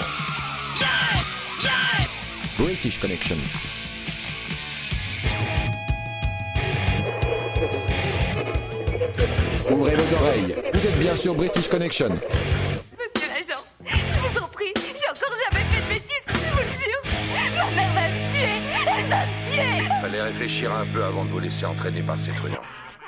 British Connection. Ouvrez vos oreilles, vous êtes bien sur British Connection. Monsieur l'agent, je vous en prie, j'ai encore jamais fait de bêtises, je vous le jure. Ma mère va me tuer, elle va me tuer. Fallait réfléchir un peu avant de vous laisser entraîner par ces truands.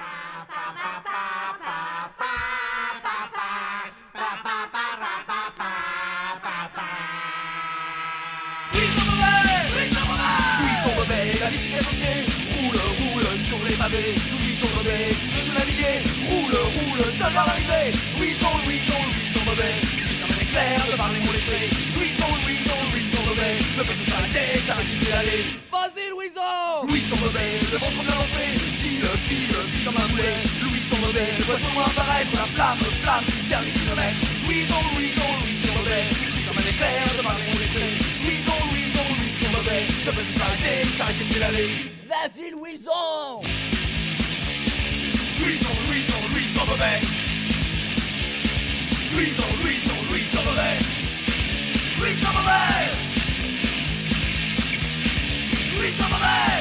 La bicyclette au pied, roule, roule sur les pavés. Louison Bobet, tout le chevalier, roule, roule, seul vers l'arrivée. Louison, Louison, Louison Bobet, comme un éclair de par les mots lettrés. Louison, Louison, Louison Bobet, le peuple s'arrêter, s'arrêter de l'aller. Vas-y Louison, Louison Bobet, le ventre bien enflé, file, file, file comme un boulet. Louison Bobet, le voit au loin apparaître la flamme, flamme du dernier kilomètre. Louison, Louison, Louison Bobet, comme un éclair de par les mots lettrés. Louison, Louison, Louison Bobet, le peuple s'arrêter, s'arrêter de l'aller. Vas-y Louison, Louison, Louison, Louison Bobet. Louison, Louison, Louison Bobet. Louison Bobet. Louison Bobet.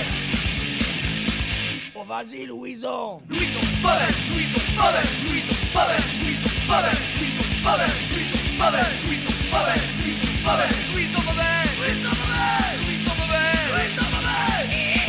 Oh vas-y Louison. Louison Bobet, Louison Bobet, Louison Bobet, Louison Bobet, Louison Bobet, Louison Bobet, Louison Bobet, Louison Bobet, Louison Bobet, Louison Bobet, Louison Bobet, Louison Bobet.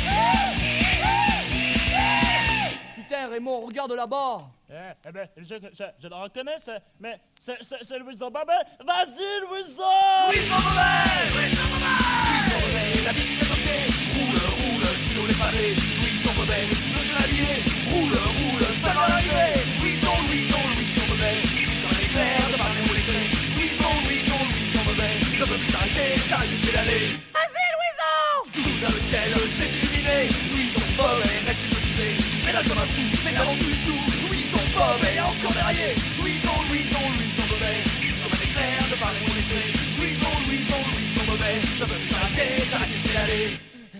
Putain Raymond, regarde là-bas. Eh, eh ben, je, je, je le reconnais, c'est, mais c'est, c'est, c'est Louison Bobet. Vas-y, Louison! Louison Bobet! Louison Bobet! Louison Bobet, la bicyclette au pied, roule, roule sur les pavés. Louison Bobet, le petit chevalier, roule, roule, seul à l'arrivée. Louison, Louison, Louison Bobet, comme un éclair de par les mots lettrés. Louison, Louison, Louison Bobet, le peuple s'arrêter, s'arrêter de pédaler. Vas-y, Louison! Soudain le ciel s'est illuminé. Louison Bobet reste hypnotisé, pédale comme un fou, mais n'avance plus du tout. Louison Bobet encore derrière. Louison, Louison, Louison Bobet, comme un éclair de par les mots lettrés. Louison, Louison, Louison Bobet, le peuple s'arrêter, s'arrêter de pédaler.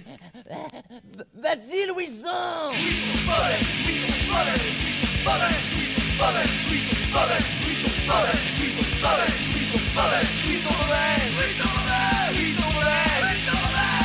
Vas-y Louison! Louison Bobet, Louison Bobet, Louison Bobet, Louison Bobet, Louison Bobet, Louison Bobet, Louison Bobet, Louison Bobet, Louison Bobet, Louison Bobet, Louison Bobet, Louison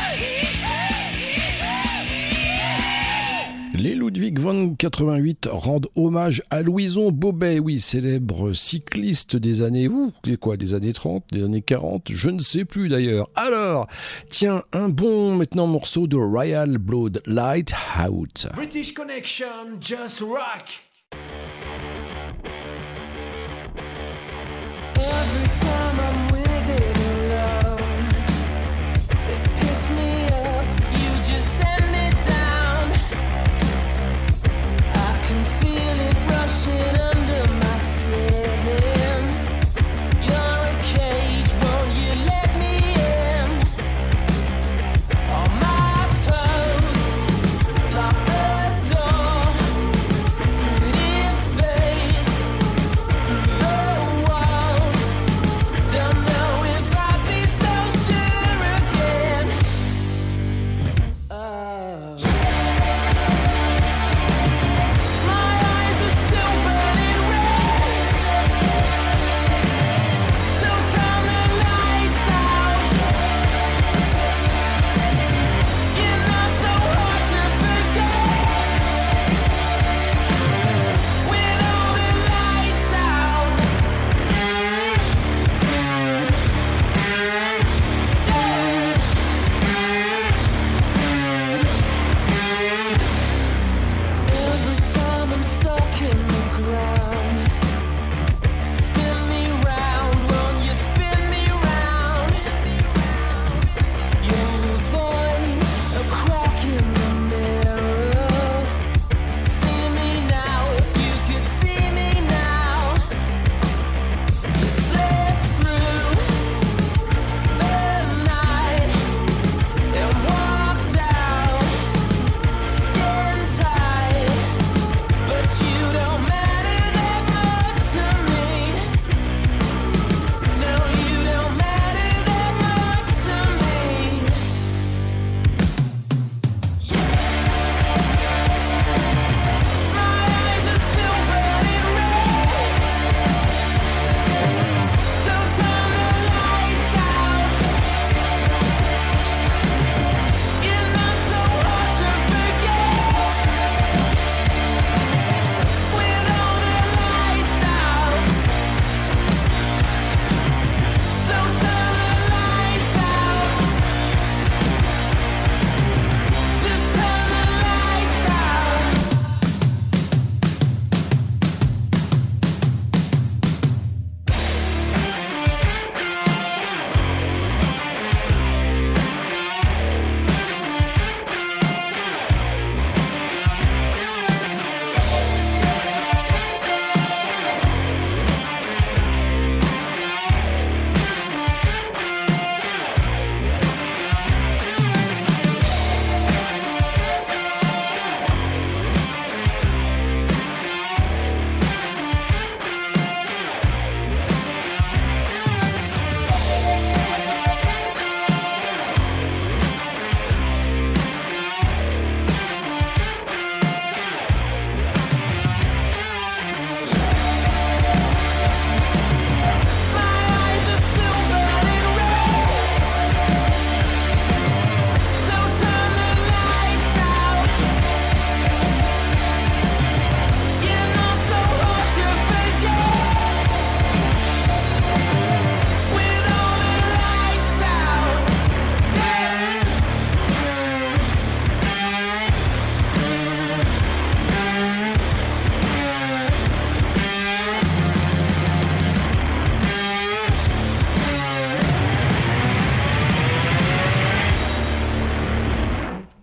Bobet. Les Ludwig von quatre-vingt-huit rendent hommage à Louison Bobet, oui, célèbre cycliste des années, ouh, c'est quoi, des années trente, des années quarante, je ne sais plus d'ailleurs. Alors, tiens, un bon maintenant morceau de Royal Blood, Lighthouse. British Connection, just rock. Every time I'm with it alone, it picks me up, you just send me down. I can feel it rushing under my skin. You're a cage, won't you let me in? On my toes, lock the door. Pretty face through the walls.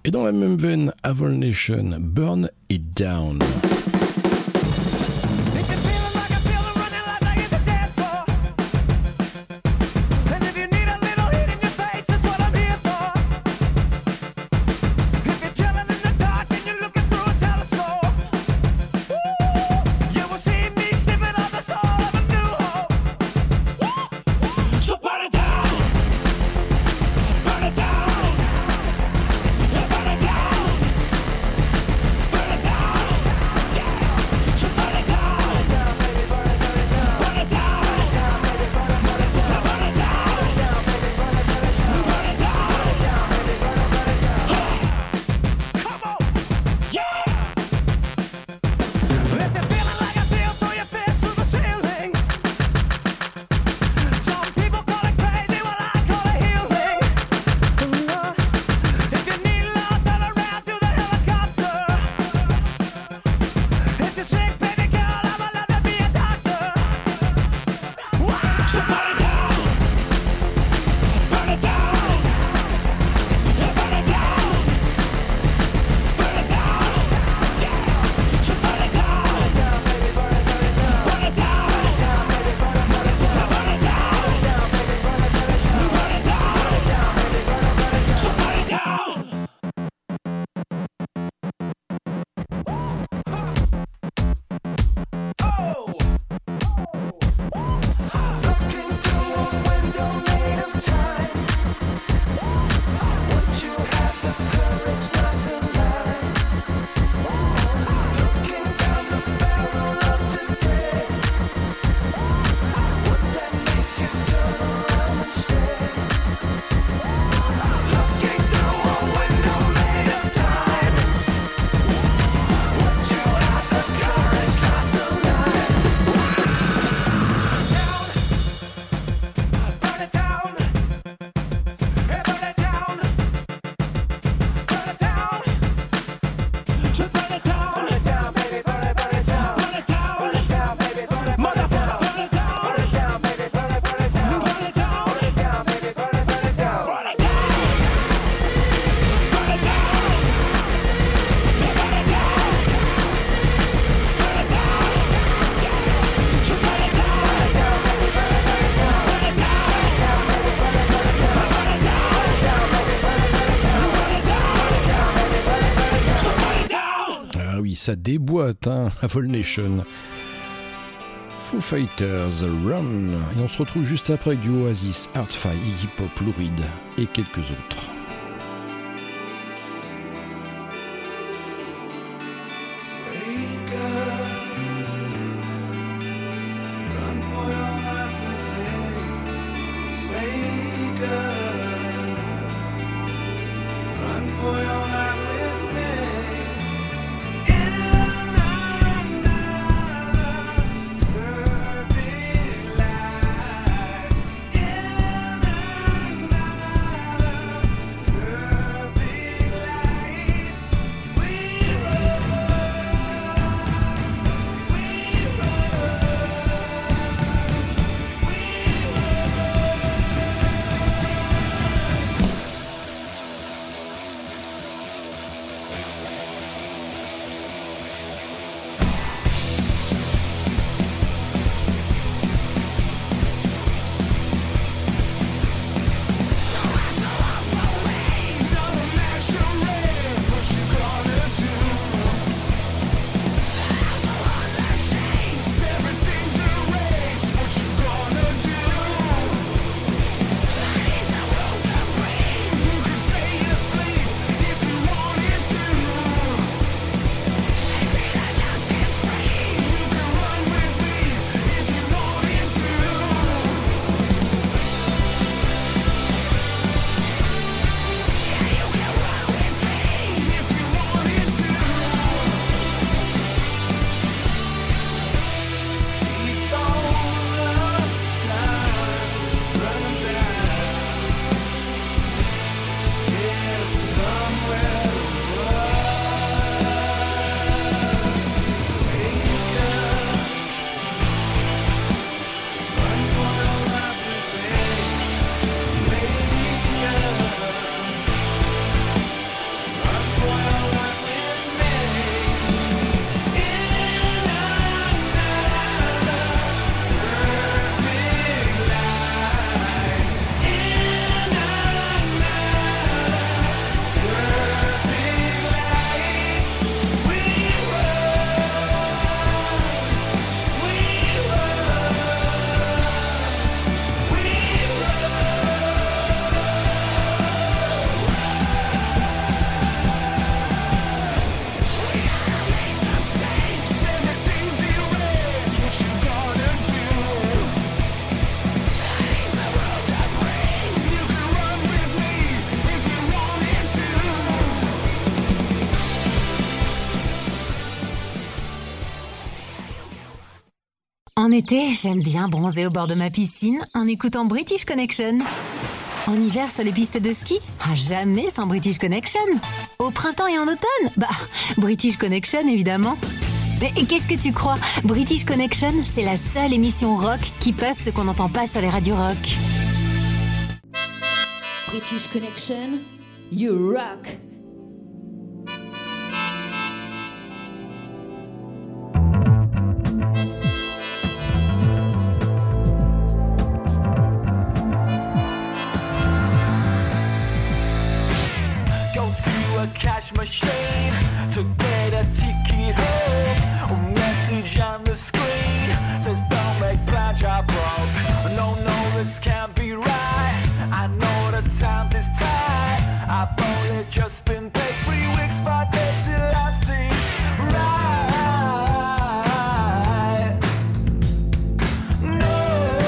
Et dans la même veine, Avon Nation, Burn It Down. Ça déboîte, hein, Avon Nation. Foo Fighters, Run. Et on se retrouve juste après avec du Oasis, Heartfire, Iggy Pop, Lou Reed et quelques autres. En été, j'aime bien bronzer au bord de ma piscine en écoutant British Connection. En hiver, sur les pistes de ski, ah, jamais sans British Connection. Au printemps et en automne, bah, British Connection évidemment. Mais qu'est-ce que tu crois? British Connection, c'est la seule émission rock qui passe ce qu'on n'entend pas sur les radios rock. British Connection, you rock. A cash machine to get a ticket home. A message on the screen says don't make plans, you're broke. No, no, this can't be right. I know the time is tight. I've only just been paid three weeks, five days till I'm seen right. No,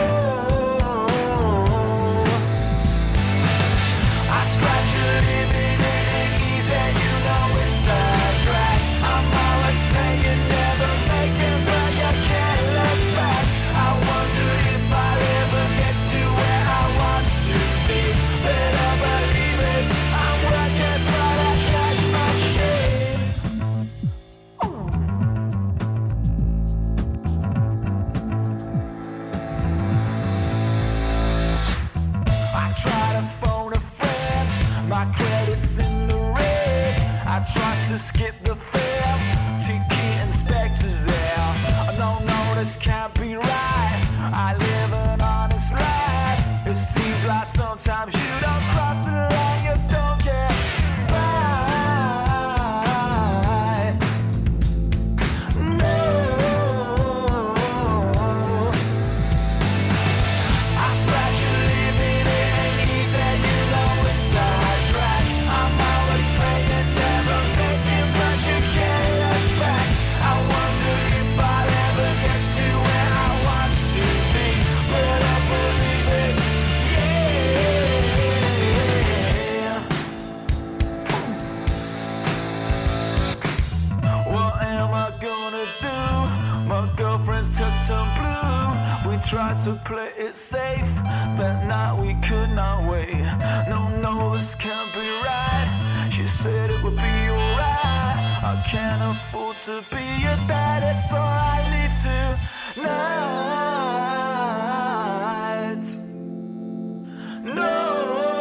I scratch a living. And you know it's a drag. I'm always paying, never making, but you can't look back. I wonder if I ever get to where I want to be. Better believe it, I'm working for that cash machine. I try to phone a friend, my credit's in the I tried to skip the fare, ticket inspector's there. No, no, this can't be right. I live an honest life. It seems like sometimes you don't cross the line, you don't get right. No, I scratch a living, it ain't easy, you know it's a drag. I'm always paying. Just turned blue. We tried to play it safe, but now we could not wait. No, no, this can't be right. She said it would be alright. I can't afford to be a dad, so I leave tonight. No.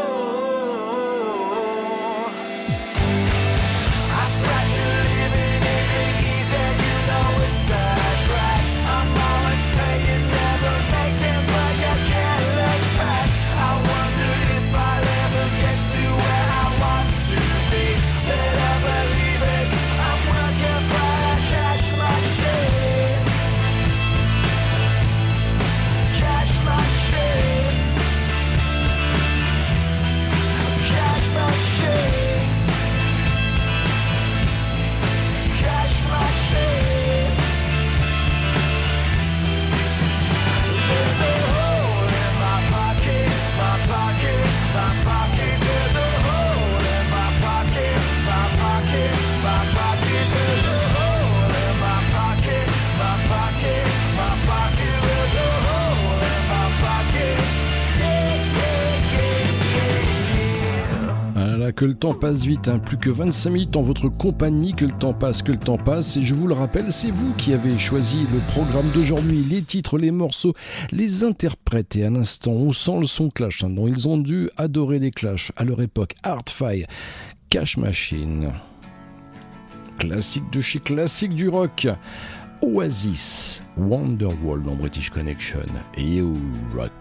Que le temps passe vite, hein. Plus que vingt-cinq minutes en votre compagnie, que le temps passe, que le temps passe. Et je vous le rappelle, c'est vous qui avez choisi le programme d'aujourd'hui, les titres, les morceaux, les interprètes. Et à l'instant, on sent le son Clash, hein, dont ils ont dû adorer les Clash à leur époque. Hard-Fi, Cash Machine, classique de chez classique du rock. Oasis, Wonderwall dans British Connection, You Rock.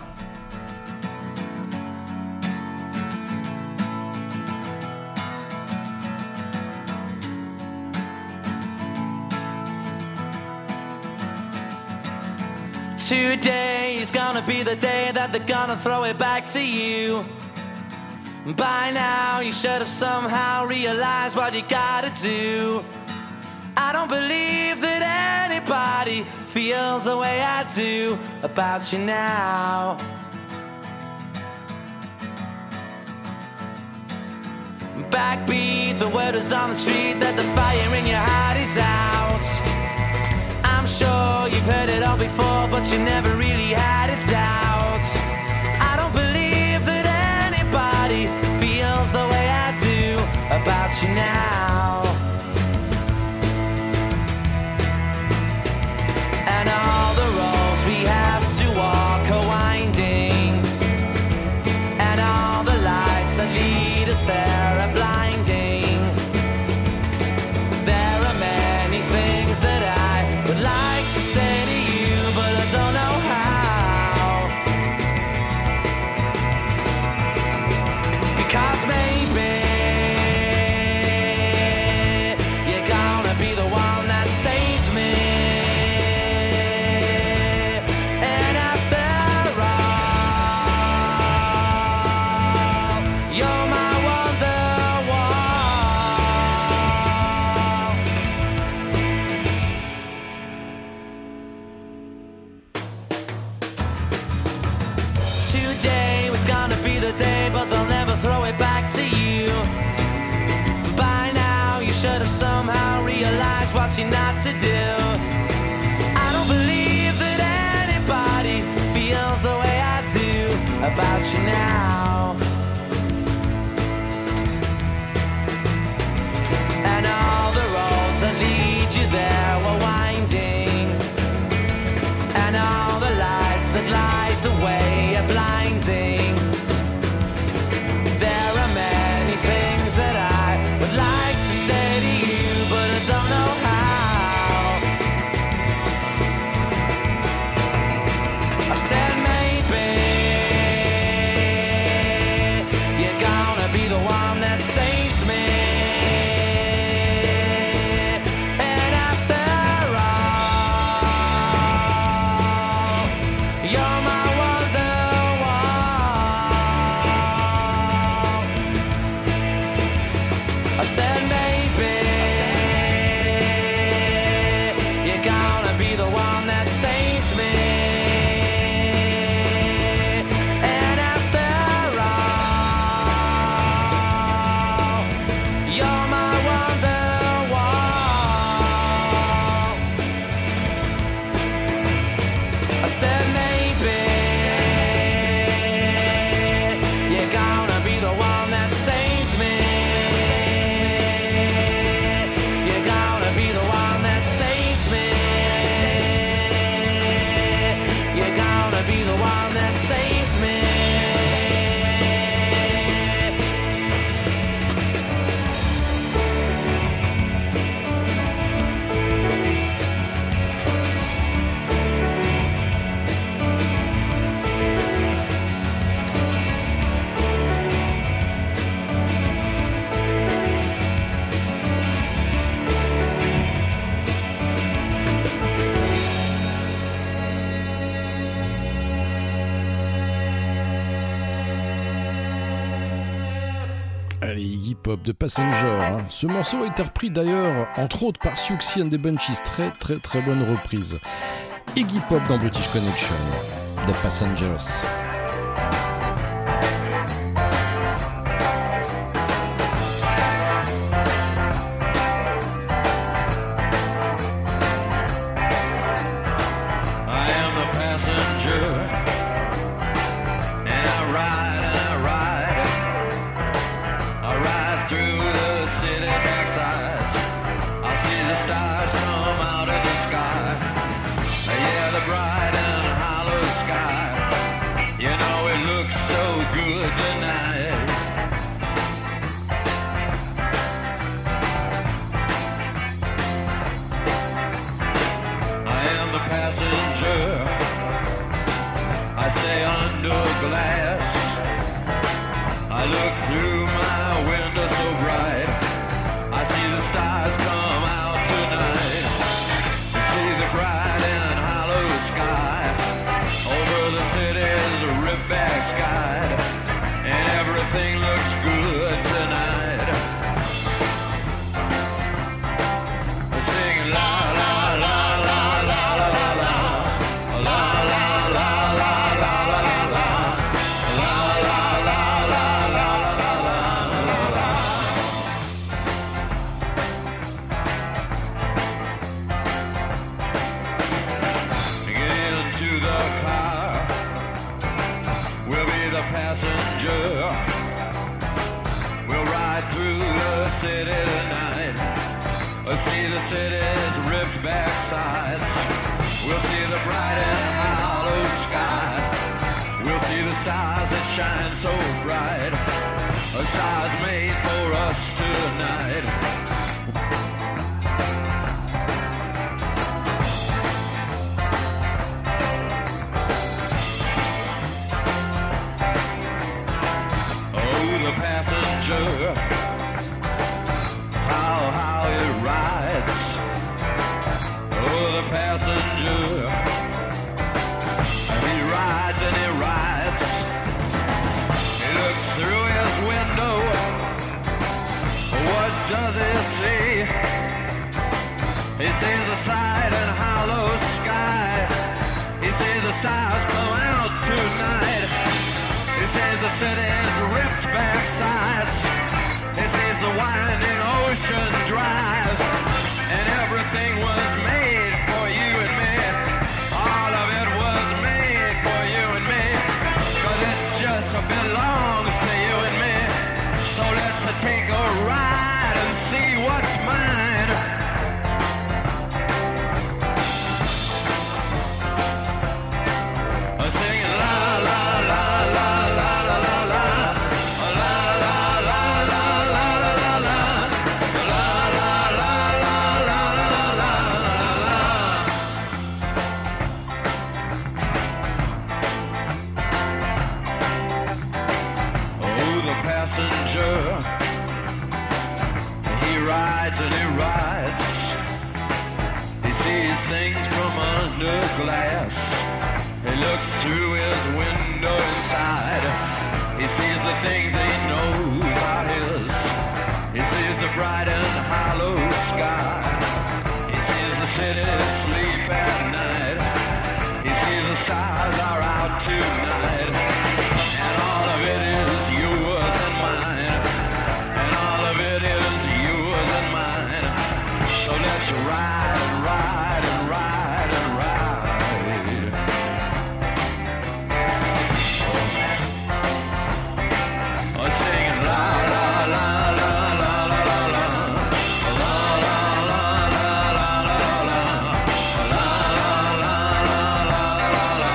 Today is gonna be the day that they're gonna throw it back to you. By now you should have somehow realized what you gotta do. I don't believe that anybody feels the way I do about you now. Backbeat, the word is on the street that the fire in your heart is out. I'm sure you've heard it all before, but you never really had a doubt. I don't believe that anybody feels the way I do about you now. And all the roads we have to walk are winding, and all the lights that lead us there are blinding. There are many things that I would like to say to you, but I don't know how. Because maybe you're gonna be the one that saves me. And after all, you're my Wonderwall. Today was gonna be the day, but they'll never throw it back to you. By now, you should have somehow realized what you're not to do. I don't believe that anybody feels the way I do about you now. And all the roads that lead you there were winding, and all the lights that light the way are blinding. There are many things that I would like to say to you, but I don't know how. I said maybe you're gonna be the one that saves me. And after all, you're my Wonderwall. I said maybe you're gonna be the one that saves me. And after all, you're my Wonderwall. I said maybe you're gonna be the one that saves me. You're gonna be the one that saves me. You're gonna be the one that saves me. Allez, Iggy Pop de Passenger. Hein. Ce morceau a été repris d'ailleurs, entre autres, par Siouxsie and the Banshees. Très très très bonne reprise. Iggy Pop dans British Connection, The Passengers. I am the passenger, and I ride and I ride. I ride through the city backsides. I see the stars come out of the sky. Yeah, the bright and hollow sky. You know it looks so good tonight. I am the passenger. I stay under glass. I look through my window so bright. I see the stars come out tonight. I see the bright and hollow sky. Over the city's rip-back sky. And everything looks good tonight. We're singing la la la la la la la la. La la la la la la la la. La la la la la la la. backsides. We'll see the bright and hollow sky. We'll see the stars that shine so bright. A stars made for us tonight. Passenger, how, how it rides. Oh, the passenger, he rides and he rides. He looks through his window. What does he see? He sees the side and hollow sky. He sees the stars come out tonight. He sees the city's ripped back sides. He sees the winding ocean drive. And everything was made for you and me. All of it was made for you and me. Cause it just belongs to you and me. So let's take a ride and see what's mine. Singing la la la la la la la la. He rides and he rides. He sees things from under glass. He looks through his window inside. He sees the things he knows are his. He sees the bright and hollow sky. He sees the city sleep at night. He sees the stars are out tonight. And all of it is yours and mine. And all of it is yours and mine. So let's ride and ride and ride and ride. Oh, singing la la la la la la la la. La la la la la la la. La la la la la la la.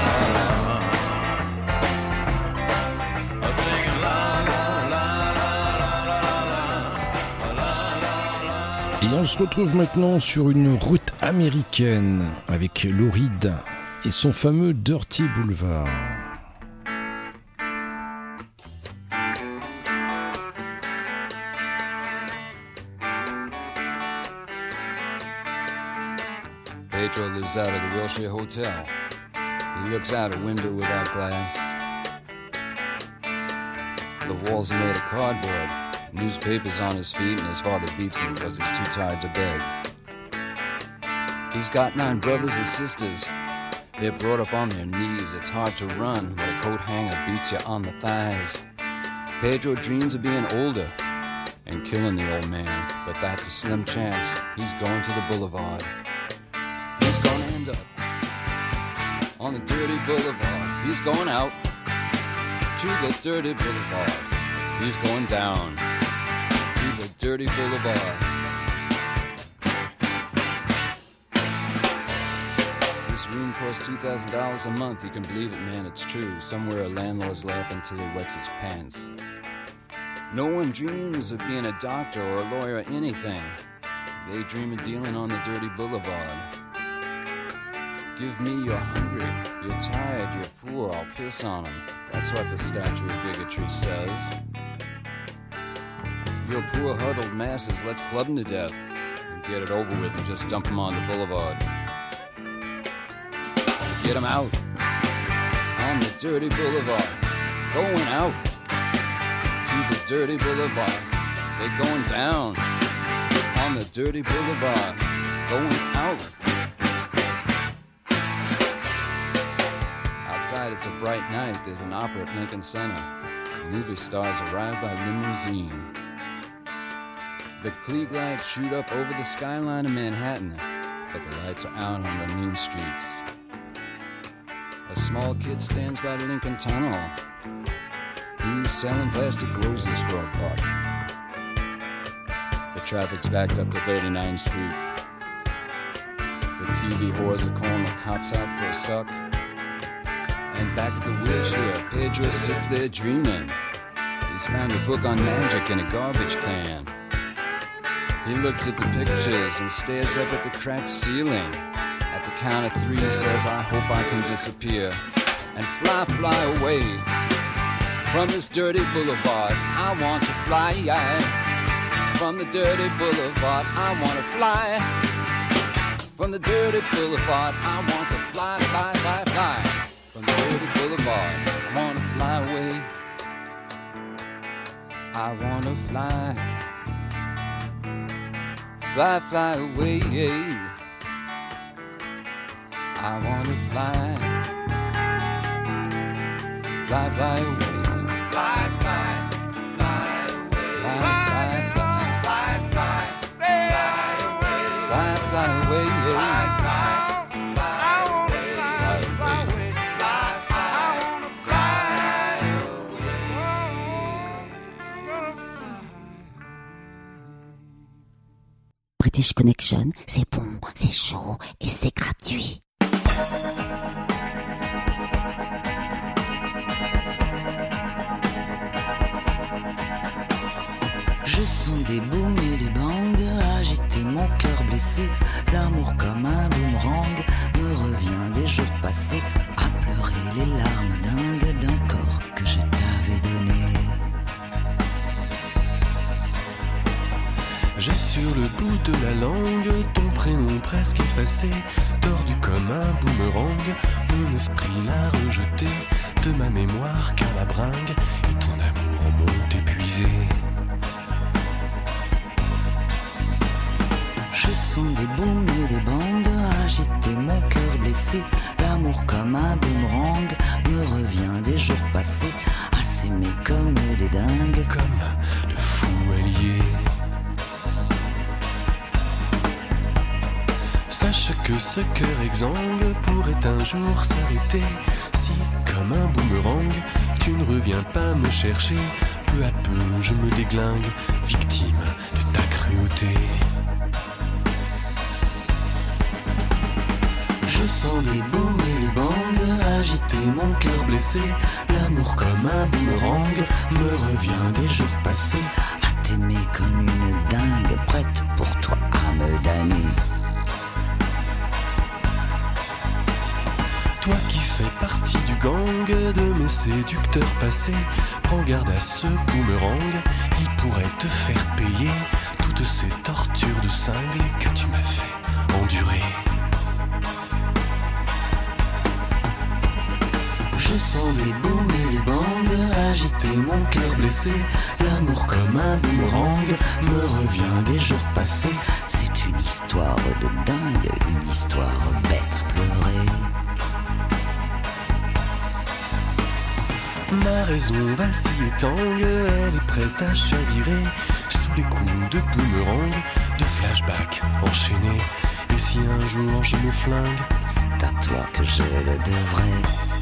Oh, singing la la la la la la la. Et on se retrouve maintenant sur une route américaine avec Lou Reed et son fameux Dirty Boulevard. Pedro lives out of the Wilshire Hotel. He looks out a window without glass. The walls are made of cardboard. Newspapers on his feet, and his father beats him because he's too tired to beg. He's got nine brothers and sisters. They're brought up on their knees. It's hard to run, but a coat hanger beats you on the thighs. Pedro dreams of being older and killing the old man, but that's a slim chance. He's going to the boulevard. He's gonna end up on the dirty boulevard. He's going out to the dirty boulevard. He's going down to the dirty boulevard. This room costs two thousand dollars a month. You can believe it, man, it's true. Somewhere a landlord's laughing till he wets his pants. No one dreams of being a doctor or a lawyer or anything. They dream of dealing on the dirty boulevard. Give me you're hungry, you're tired, you're poor, I'll piss on them. That's what the statue of bigotry says. You're poor huddled masses, let's club them to death and get it over with and just dump them on the boulevard. Get them out on the dirty boulevard. Going out to the dirty boulevard. They're going down on the dirty boulevard. Going out. Outside it's a bright night. There's an opera at Lincoln Center. Movie stars arrive by limousine. The Klieg lights shoot up over the skyline of Manhattan, but the lights are out on the mean streets. A small kid stands by the Lincoln Tunnel. He's selling plastic roses for a buck. The traffic's backed up to thirty-ninth Street. The T V whores are calling the cops out for a suck. And back at the wheelchair, Pedro sits there dreaming. He's found a book on magic in a garbage can. He looks at the pictures and stares up at the cracked ceiling. At the count of three, he says, I hope I can disappear and fly, fly away from this dirty boulevard. I want to fly from the dirty boulevard. I want to fly from the dirty boulevard. I want to fly, fly, fly, fly from the dirty boulevard. I want to fly away. I want to fly, fly, fly away. I want to fly, fly, fly away. Fly, fly, fly away. Fly, fly, fly, fly, fly, fly away. Fly, fly away. Fly, fly, fly away. Fly, fly away. Fly, fly, British Connection, c'est bon, c'est chaud et c'est gratuit. Je sens des booms et des bangs agiter mon cœur blessé. L'amour comme un boomerang me revient des jours passés, à pleurer les larmes dingues d'un corps que je t'avais donné. J'ai sur le bout de la langue ton prénom presque effacé, tordu comme un boomerang. Mon esprit l'a rejeté de ma mémoire car la bringue et ton amour m'ont épuisé. Je sens des booms et des bangs agiter mon cœur blessé. L'amour comme un boomerang me revient des jours passés, à s'aimer comme des dingues, comme de fous alliés. Sache que ce cœur exsangue pourrait un jour s'arrêter si, comme un boomerang, tu ne reviens pas me chercher. Peu à peu je me déglingue, victime de ta cruauté. Je sens des booms et des bangs agiter mon cœur blessé. L'amour comme un boomerang me revient des jours passés, à t'aimer comme une dingue, prête pour toi à me damner. Toi qui fais partie du gang de mes séducteurs passés, prends garde à ce boomerang, il pourrait te faire payer toutes ces tortures de cingle que tu m'as fait endurer. Je sens des booms et des bangs agiter mon cœur blessé. L'amour comme un boomerang me revient des jours passés. C'est une histoire de dingue, une histoire bête à pleurer. Ma raison vacille et tangue, elle est prête à chavirer sous les coups de boomerang, de flashback enchaînés. Et si un jour je me flingue, c'est à toi que je le devrais.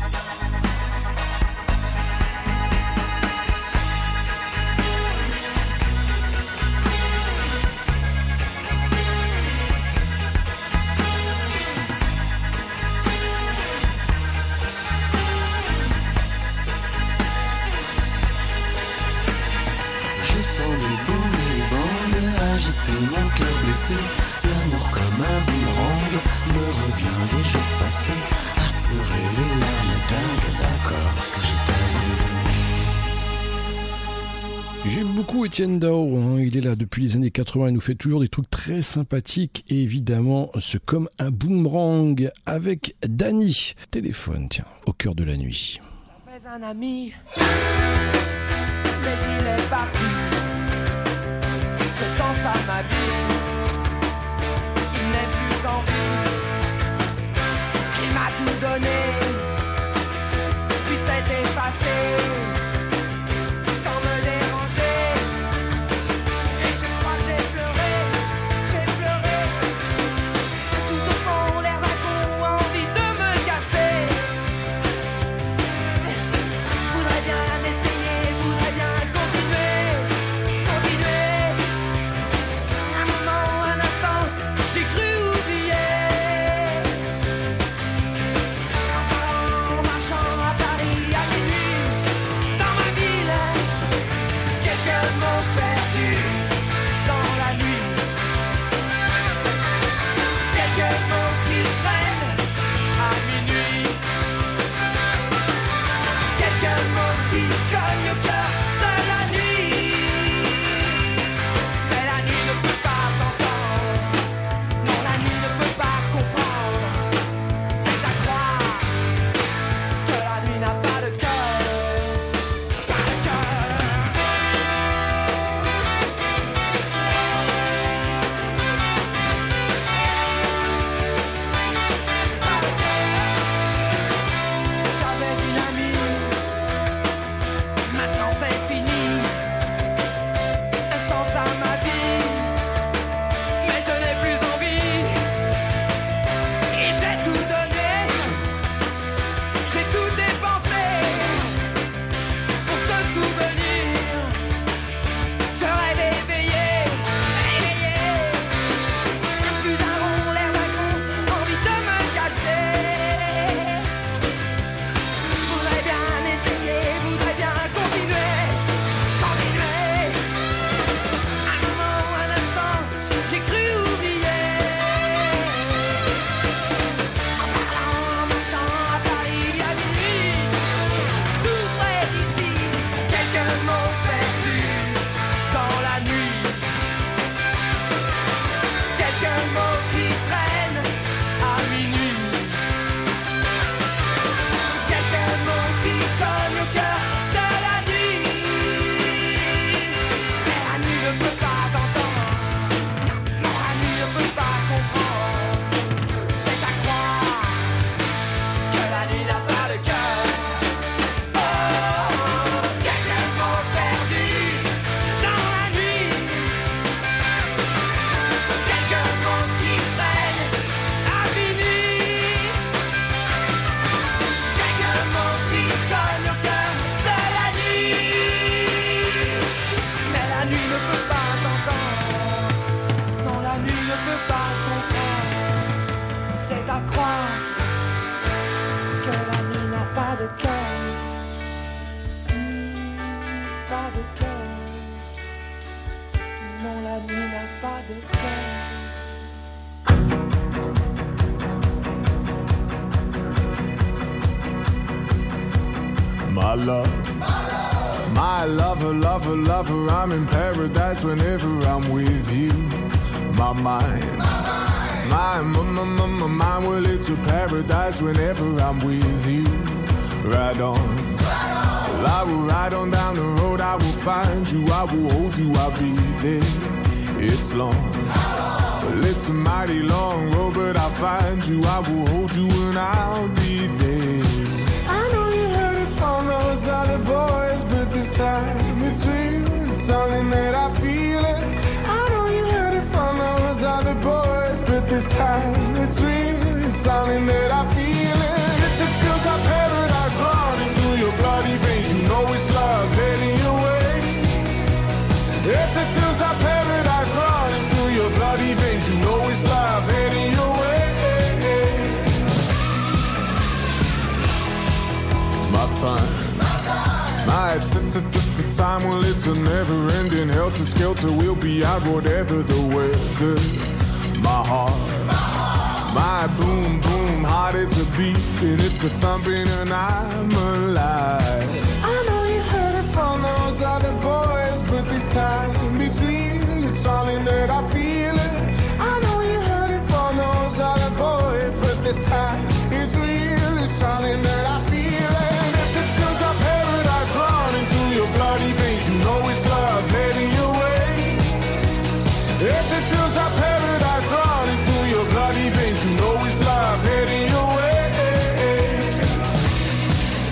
Mon cœur blessé, l'amour comme un boomerang me revient des jours passés, à pleurer les larmes dingues d'un corps que je t'avais donné. J'aime beaucoup Étienne Dao, hein. Il est là depuis les années quatre-vingts, il nous fait toujours des trucs très sympathiques et évidemment ce comme un boomerang avec Dany. Téléphone, tiens, au cœur de la nuit. J'avais un ami, mais il est parti. Ce sens à ma vie, il n'est plus en vie. Il m'a tout donné, puis s'est effacé, sans me déranger. Et je crois j'ai pleuré, j'ai pleuré. Tout au fond l'air d'un con, envie de me casser. Voudrais bien essayer, voudrais bien continuer, continuer. Un moment, un instant, j'ai cru oublier. qui cogne au cœur de la nuit. Mais la nuit ne peut pas s'entendre. Non, la nuit ne peut pas comprendre. C'est à croire que la nuit n'a pas de cœur. Pas de cœur. J'avais une amie, maintenant c'est fini. Un sens à ma vie, mais je n'ai plus envie. Et j'ai tout donné, j'ai tout dépensé pour ce souvenir. Ce rêve éveillé, éveillé. Plus un rond, l'air d'un con, envie de me cacher. Voudrais bien essayer, voudrais bien continuer, continuer. Un moment, un instant, j'ai cru oublier. En parlant, en marchant à Paris à minuit, tout près d'ici, quelques mots perdus dans la nuit. Quelques mots qui traînent à minuit. Quelques mots qui cognent au cœur de la nuit. Mais la nuit ne peut pas entendre. Non, la nuit ne peut pas comprendre. C'est à croire que la nuit n'a pas de cœur. Oh, quelques mots perdus dans la nuit. Quelques mots qui traînent à minuit. Quelques mots qui cognent au cœur de la nuit. Mais la nuit ne peut pas entendre. Non, la nuit ne peut pas comprendre. C'est à croire que la nuit n'a pas de cœur. Hmm, Pas de cœur. Non, la nuit n'a pas de cœur. My love, my lover, lover, lover, I'm in paradise whenever I'm with you. My mind, my, my, my, my, my mind, well, it's a paradise whenever I'm with you. Ride on, well, I will ride on down the road, I will find you, I will hold you, I'll be there. It's long, well, it's a mighty long road, but I'll find you, I will hold you, and I'll be there. I know you heard it from those other boys, but this time it's real. It's something that I feel it. I know you heard it from those other boys, but this time it's real. It's something that I feel it. If it feels like paradise running through your bloody veins, you know it's love heading your way. If it feels like paradise running through your bloody veins, you know it's love heading your way. My time, my t-t-t-t-time, well, it's a never-ending helter-skelter. We'll be out whatever the weather. My heart, my boom-boom heart, it's a beat and it's a thumping, and I'm alive. I know you heard it from those other boys, but this time between, it's something that I feel it. I know you heard it from those other boys, but this time it's real. It's something that I feel it. Paradise running through your bloody veins, you know it's love heading your way. If it feels like paradise running through your bloody veins, you know it's love heading your way.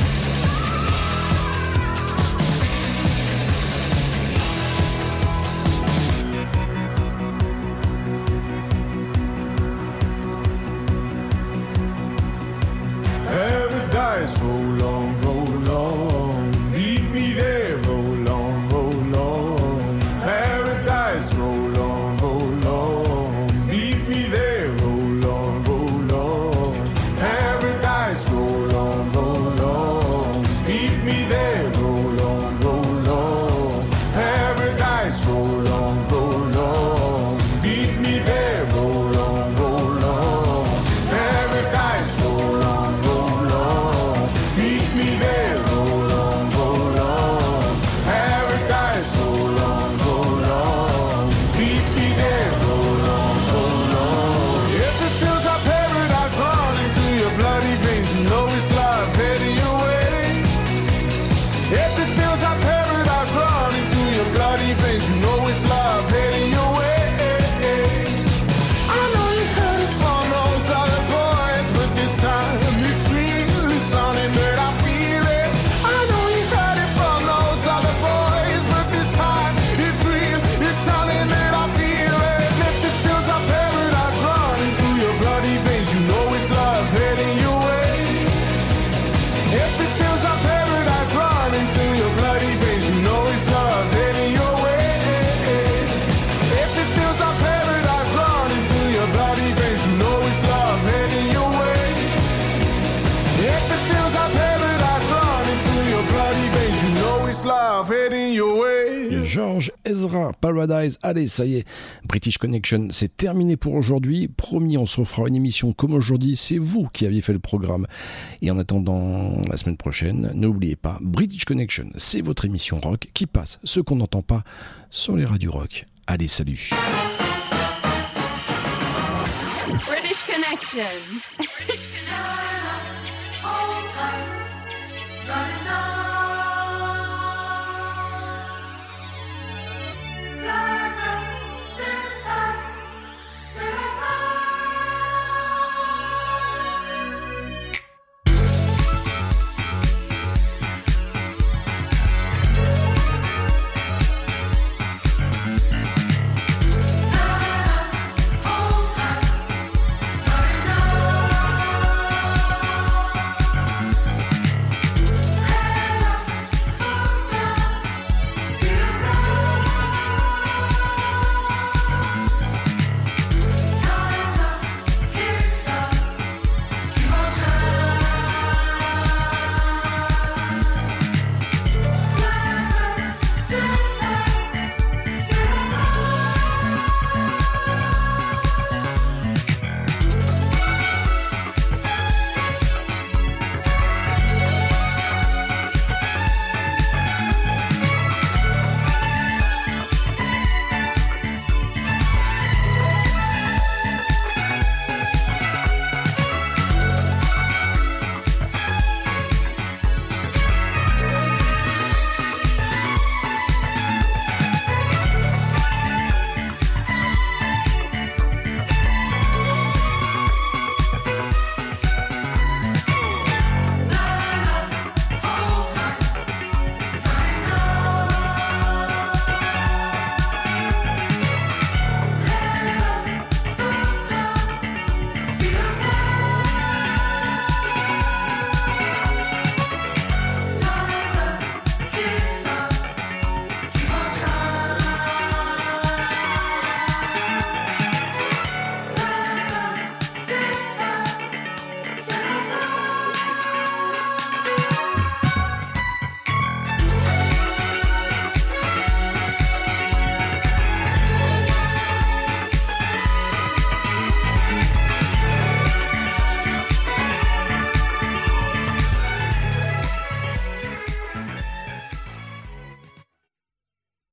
George Ezra, Paradise. Allez, ça y est, British Connection, c'est terminé pour aujourd'hui. Promis, on se refera une émission comme aujourd'hui. C'est vous qui aviez fait le programme. Et en attendant la semaine prochaine, n'oubliez pas, British Connection, c'est votre émission rock qui passe ce qu'on n'entend pas sur les radios rock. Allez, salut. British Connection. British Connection. All time.